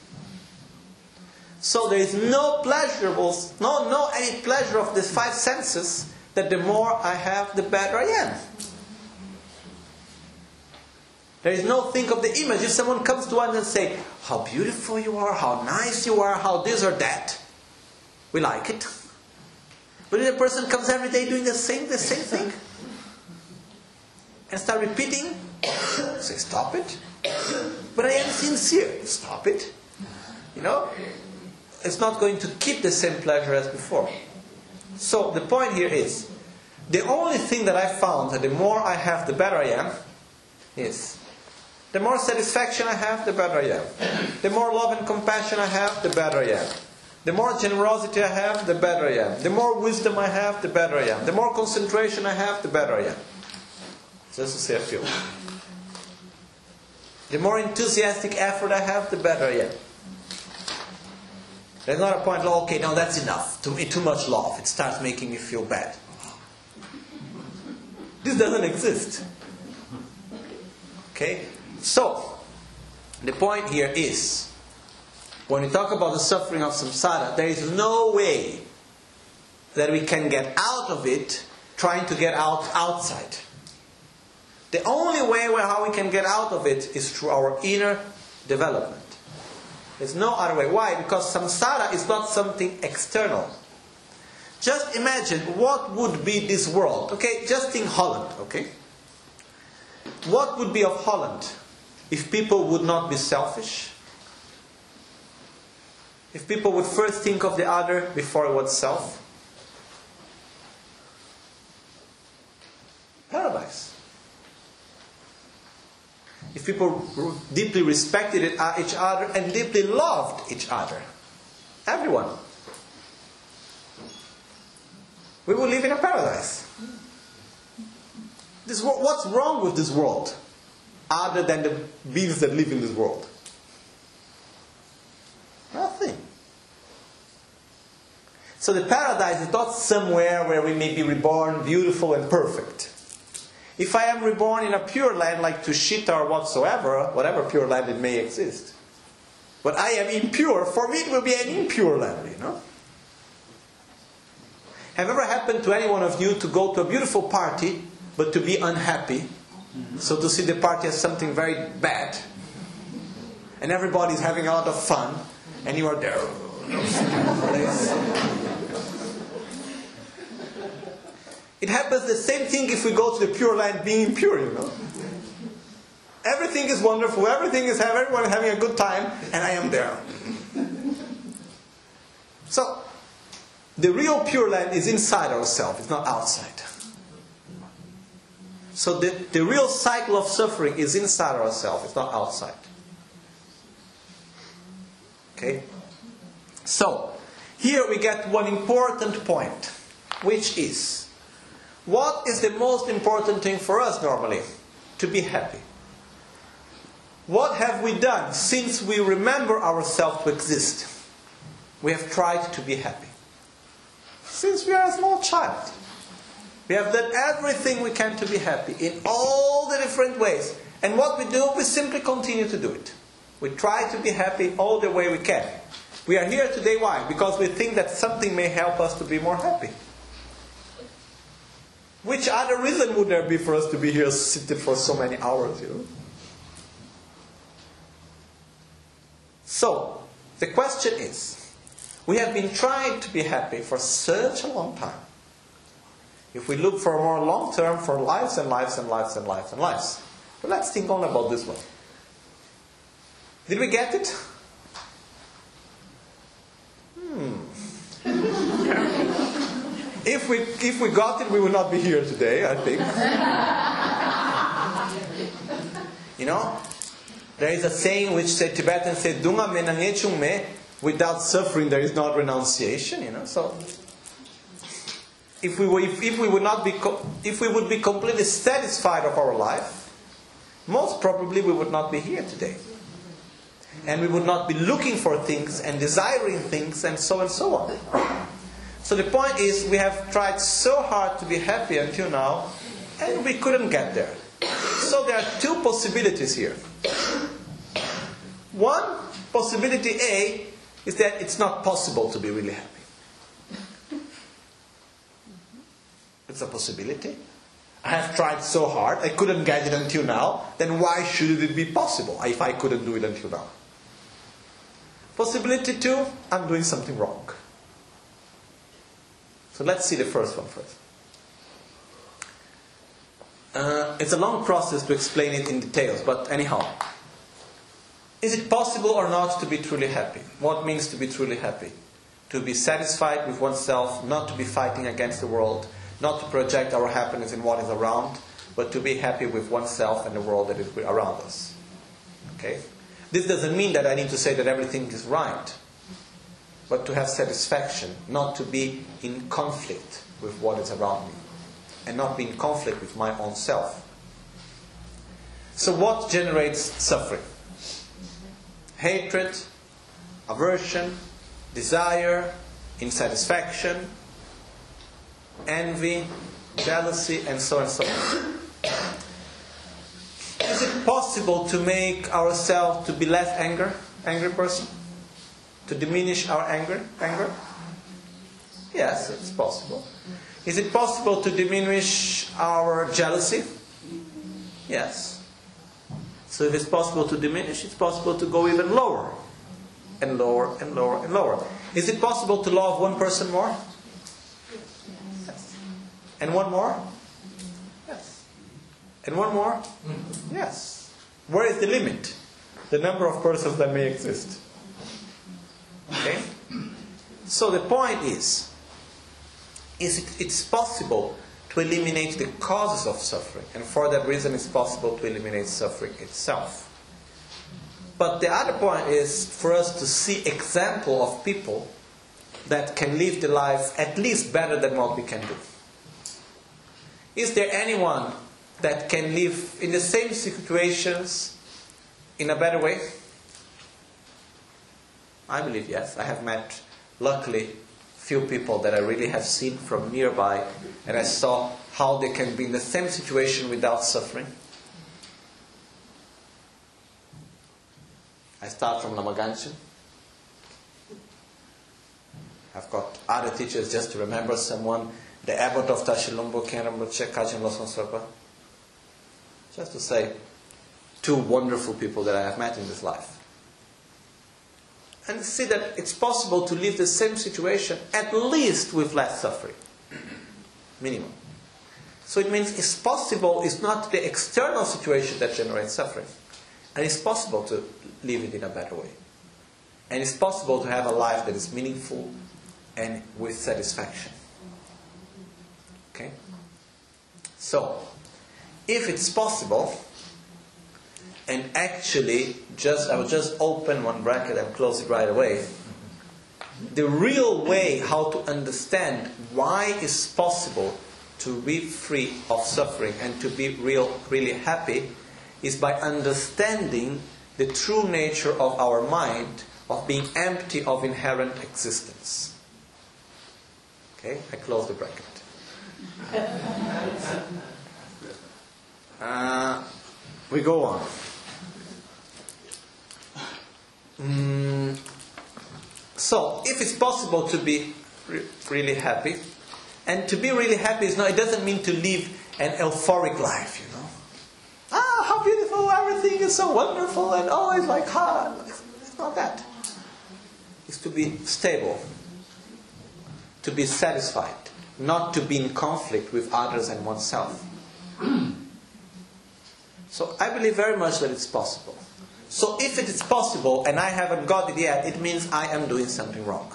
So there is no pleasurables, no, no any pleasure of these five senses that the more I have, the better I am. There is no think of the image. If someone comes to us and say, how beautiful you are, how nice you are, how this or that, we like it. But if a person comes every day doing the same, the same thing, and start repeating, say, stop it. But I am sincere. Stop it. You know? It's not going to keep the same pleasure as before. So the point here is, the only thing that I found that the more I have, the better I am, is the more satisfaction I have, the better I am. The more love and compassion I have, the better I am. The more generosity I have, the better I am. The more wisdom I have, the better I am. The more concentration I have, the better I am. Just to say a few. The more enthusiastic effort I have, the better I am. There's not a point, oh, okay, no, that's enough. Too, too much love. It starts making me feel bad. This doesn't exist. Okay? So, the point here is, when we talk about the suffering of samsara, there is no way that we can get out of it trying to get out outside. The only way where how we can get out of it is through our inner development. There's no other way. Why? Because samsara is not something external. Just imagine what would be this world. Okay, just think Holland. Okay, what would be of Holland if people would not be selfish? If people would first think of the other before oneself? Paradise. If people deeply respected each other and deeply loved each other. Everyone. We will live in a paradise. This, what's wrong with this world? Other than the beings that live in this world? Nothing. So the paradise is not somewhere where we may be reborn beautiful and perfect. If I am reborn in a pure land like Tushita or whatsoever, whatever pure land it may exist, but I am impure, for me it will be an impure land, you know. Have ever happened to any one of you to go to a beautiful party, but to be unhappy? Mm-hmm. So to see the party as something very bad, and everybody's having a lot of fun, and you are there. It happens the same thing if we go to the pure land being impure, you know. Everything is wonderful, everything is everyone is having a good time, and I am there. So, the real pure land is inside ourselves, it's not outside. So the, the real cycle of suffering is inside ourselves, it's not outside. Okay? So, here we get one important point, which is, what is the most important thing for us normally? To be happy. What have we done since we remember ourselves to exist? We have tried to be happy. Since we are a small child. We have done everything we can to be happy in all the different ways. And what we do, we simply continue to do it. We try to be happy all the way we can. We are here today, why? Because we think that something may help us to be more happy. Which other reason would there be for us to be here seated for so many hours, you know? So, the question is, we have been trying to be happy for such a long time. If we look for a more long term, for lives and lives and lives and lives and lives. But let's think only about this one. Did we get it? Hmm. If we, if we got it, we would not be here today, I think. You know? There is a saying which the Tibetans say, Dunga menange chung me, without suffering there is not renunciation, you know. So if we were, if, if we would not be if we would be completely satisfied of our life, most probably we would not be here today. And we would not be looking for things and desiring things and so and so on. So the point is, we have tried so hard to be happy until now, and we couldn't get there. So there are two possibilities here. One, possibility A, is that it's not possible to be really happy. It's a possibility. I have tried so hard, I couldn't get it until now, then why should it be possible if I couldn't do it until now? Possibility two, I'm doing something wrong. So let's see the first one first. Uh, it's a long process to explain it in details, but anyhow. Is it possible or not to be truly happy? What means to be truly happy? To be satisfied with oneself, not to be fighting against the world, not to project our happiness in what is around, but to be happy with oneself and the world that is around us. Okay? This doesn't mean that I need to say that everything is right, but to have satisfaction, not to be in conflict with what is around me, and not be in conflict with my own self. So what generates suffering? Hatred, aversion, desire, insatisfaction, envy, jealousy, and so on and so on. Is it possible to make ourselves to be less anger, angry person? To diminish our anger? Anger? Yes, it's possible. Is it possible to diminish our jealousy? Yes. So if it's possible to diminish, it's possible to go even lower. And lower, and lower, and lower. Is it possible to love one person more? Yes. And one more? Yes. And one more? Yes. Where is the limit? The number of persons that may exist. Okay? So the point is, is it, it's possible to eliminate the causes of suffering, and for that reason it's possible to eliminate suffering itself. But the other point is for us to see example of people that can live the life at least better than what we can do. Is there anyone that can live in the same situations in a better way? I believe yes. I have met, luckily, few people that I really have seen from nearby, and I saw how they can be in the same situation without suffering. I start from Lama Ganchen. I've got other teachers just to remember someone, the abbot of Tashilumbo, Kenrambuche, Kajin Losong Serpa. Just to say, two wonderful people that I have met in this life. And see that it's possible to live the same situation at least with less suffering. Minimum. So it means it's possible, it's not the external situation that generates suffering. And it's possible to live it in a better way. And it's possible to have a life that is meaningful and with satisfaction. Okay? So, if it's possible, and actually, just I will just open one bracket and close it right away. The real way how to understand why it's possible to be free of suffering and to be real, really happy is by understanding the true nature of our mind of being empty of inherent existence. Okay, I close the bracket. Uh, we go on. Mm, so, if it's possible to be re- really happy, and to be really happy is not, it doesn't mean to live an euphoric life, you know. Ah, how beautiful, everything is so wonderful, and oh, it's like, ah, it's not that. It's to be stable, to be satisfied, not to be in conflict with others and oneself. So, I believe very much that it's possible. So if it is possible and I haven't got it yet, it means I am doing something wrong.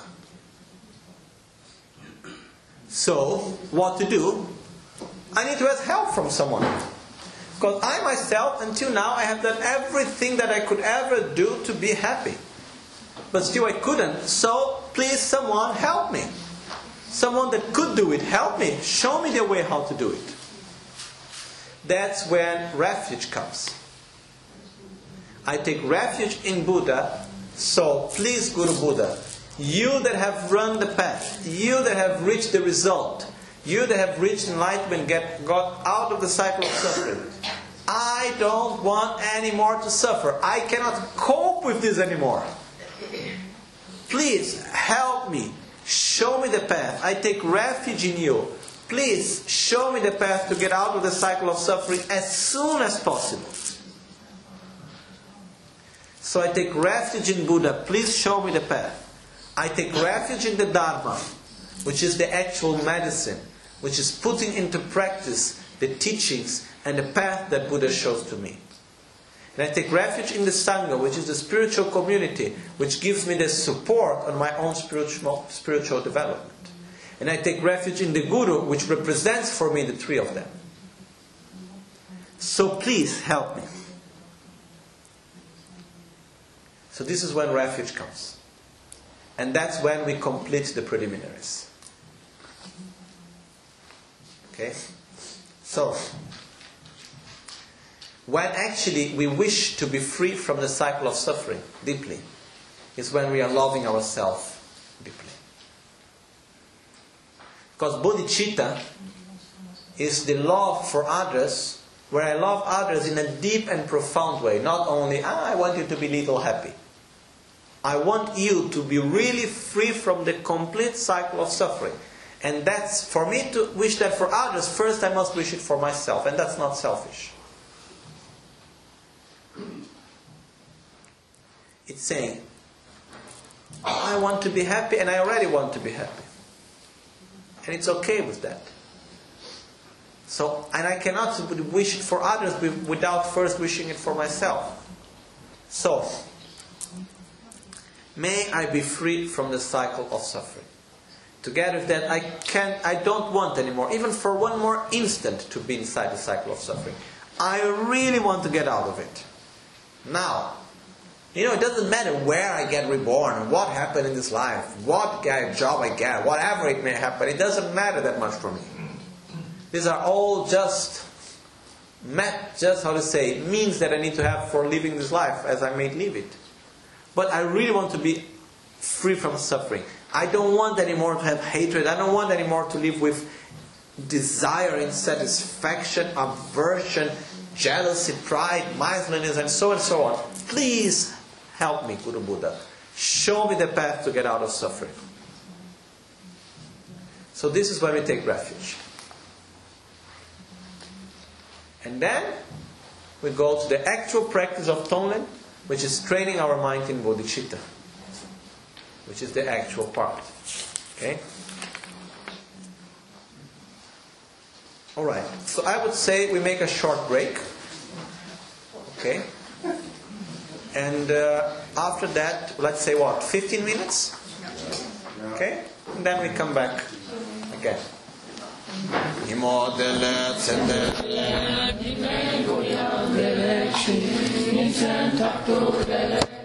So, what to do? I need to ask help from someone. Because I myself, until now, I have done everything that I could ever do to be happy. But still I couldn't. So, please someone help me. Someone that could do it, help me. Show me the way how to do it. That's when refuge comes. I take refuge in Buddha. So please, Guru Buddha, you that have run the path, you that have reached the result, you that have reached enlightenment, get got out of the cycle of suffering, I don't want any more to suffer. I cannot cope with this anymore. Please help me. Show me the path. I take refuge in you. Please show me the path to get out of the cycle of suffering as soon as possible. So I take refuge in Buddha. Please show me the path. I take refuge in the Dharma, which is the actual medicine, which is putting into practice the teachings and the path that Buddha shows to me. And I take refuge in the Sangha, which is the spiritual community, which gives me the support on my own spiritual, spiritual development. And I take refuge in the Guru, which represents for me the three of them. So please help me. So this is when refuge comes. And that's when we complete the preliminaries. Okay? So, when actually we wish to be free from the cycle of suffering deeply, is when we are loving ourselves deeply. Because bodhicitta is the love for others, where I love others in a deep and profound way. Not only, ah, I want you to be little happy. I want you to be really free from the complete cycle of suffering. And that's, for me to wish that for others, first I must wish it for myself. And that's not selfish. It's saying, I want to be happy and I already want to be happy. And it's okay with that. So, and I cannot wish it for others without first wishing it for myself. So, may I be free from the cycle of suffering. Together with that, I can't, I don't want anymore, even for one more instant, to be inside the cycle of suffering. I really want to get out of it. Now, you know, it doesn't matter where I get reborn, what happened in this life, what job I get, whatever it may happen, it doesn't matter that much for me. These are all just, just how to say, means that I need to have for living this life as I may live it. But I really want to be free from suffering. I don't want anymore to have hatred. I don't want anymore to live with desire, insatisfaction, aversion, jealousy, pride, mindfulness, and so on and so on. Please help me, Guru Buddha. Show me the path to get out of suffering. So this is where we take refuge. And then we go to the actual practice of Tonglen, which is training our mind in bodhicitta, which is the actual part. Okay? Alright, so I would say we make a short break. Okay? And uh, after that, let's say what, fifteen minutes? Okay? And then we come back again. Imodele tsendele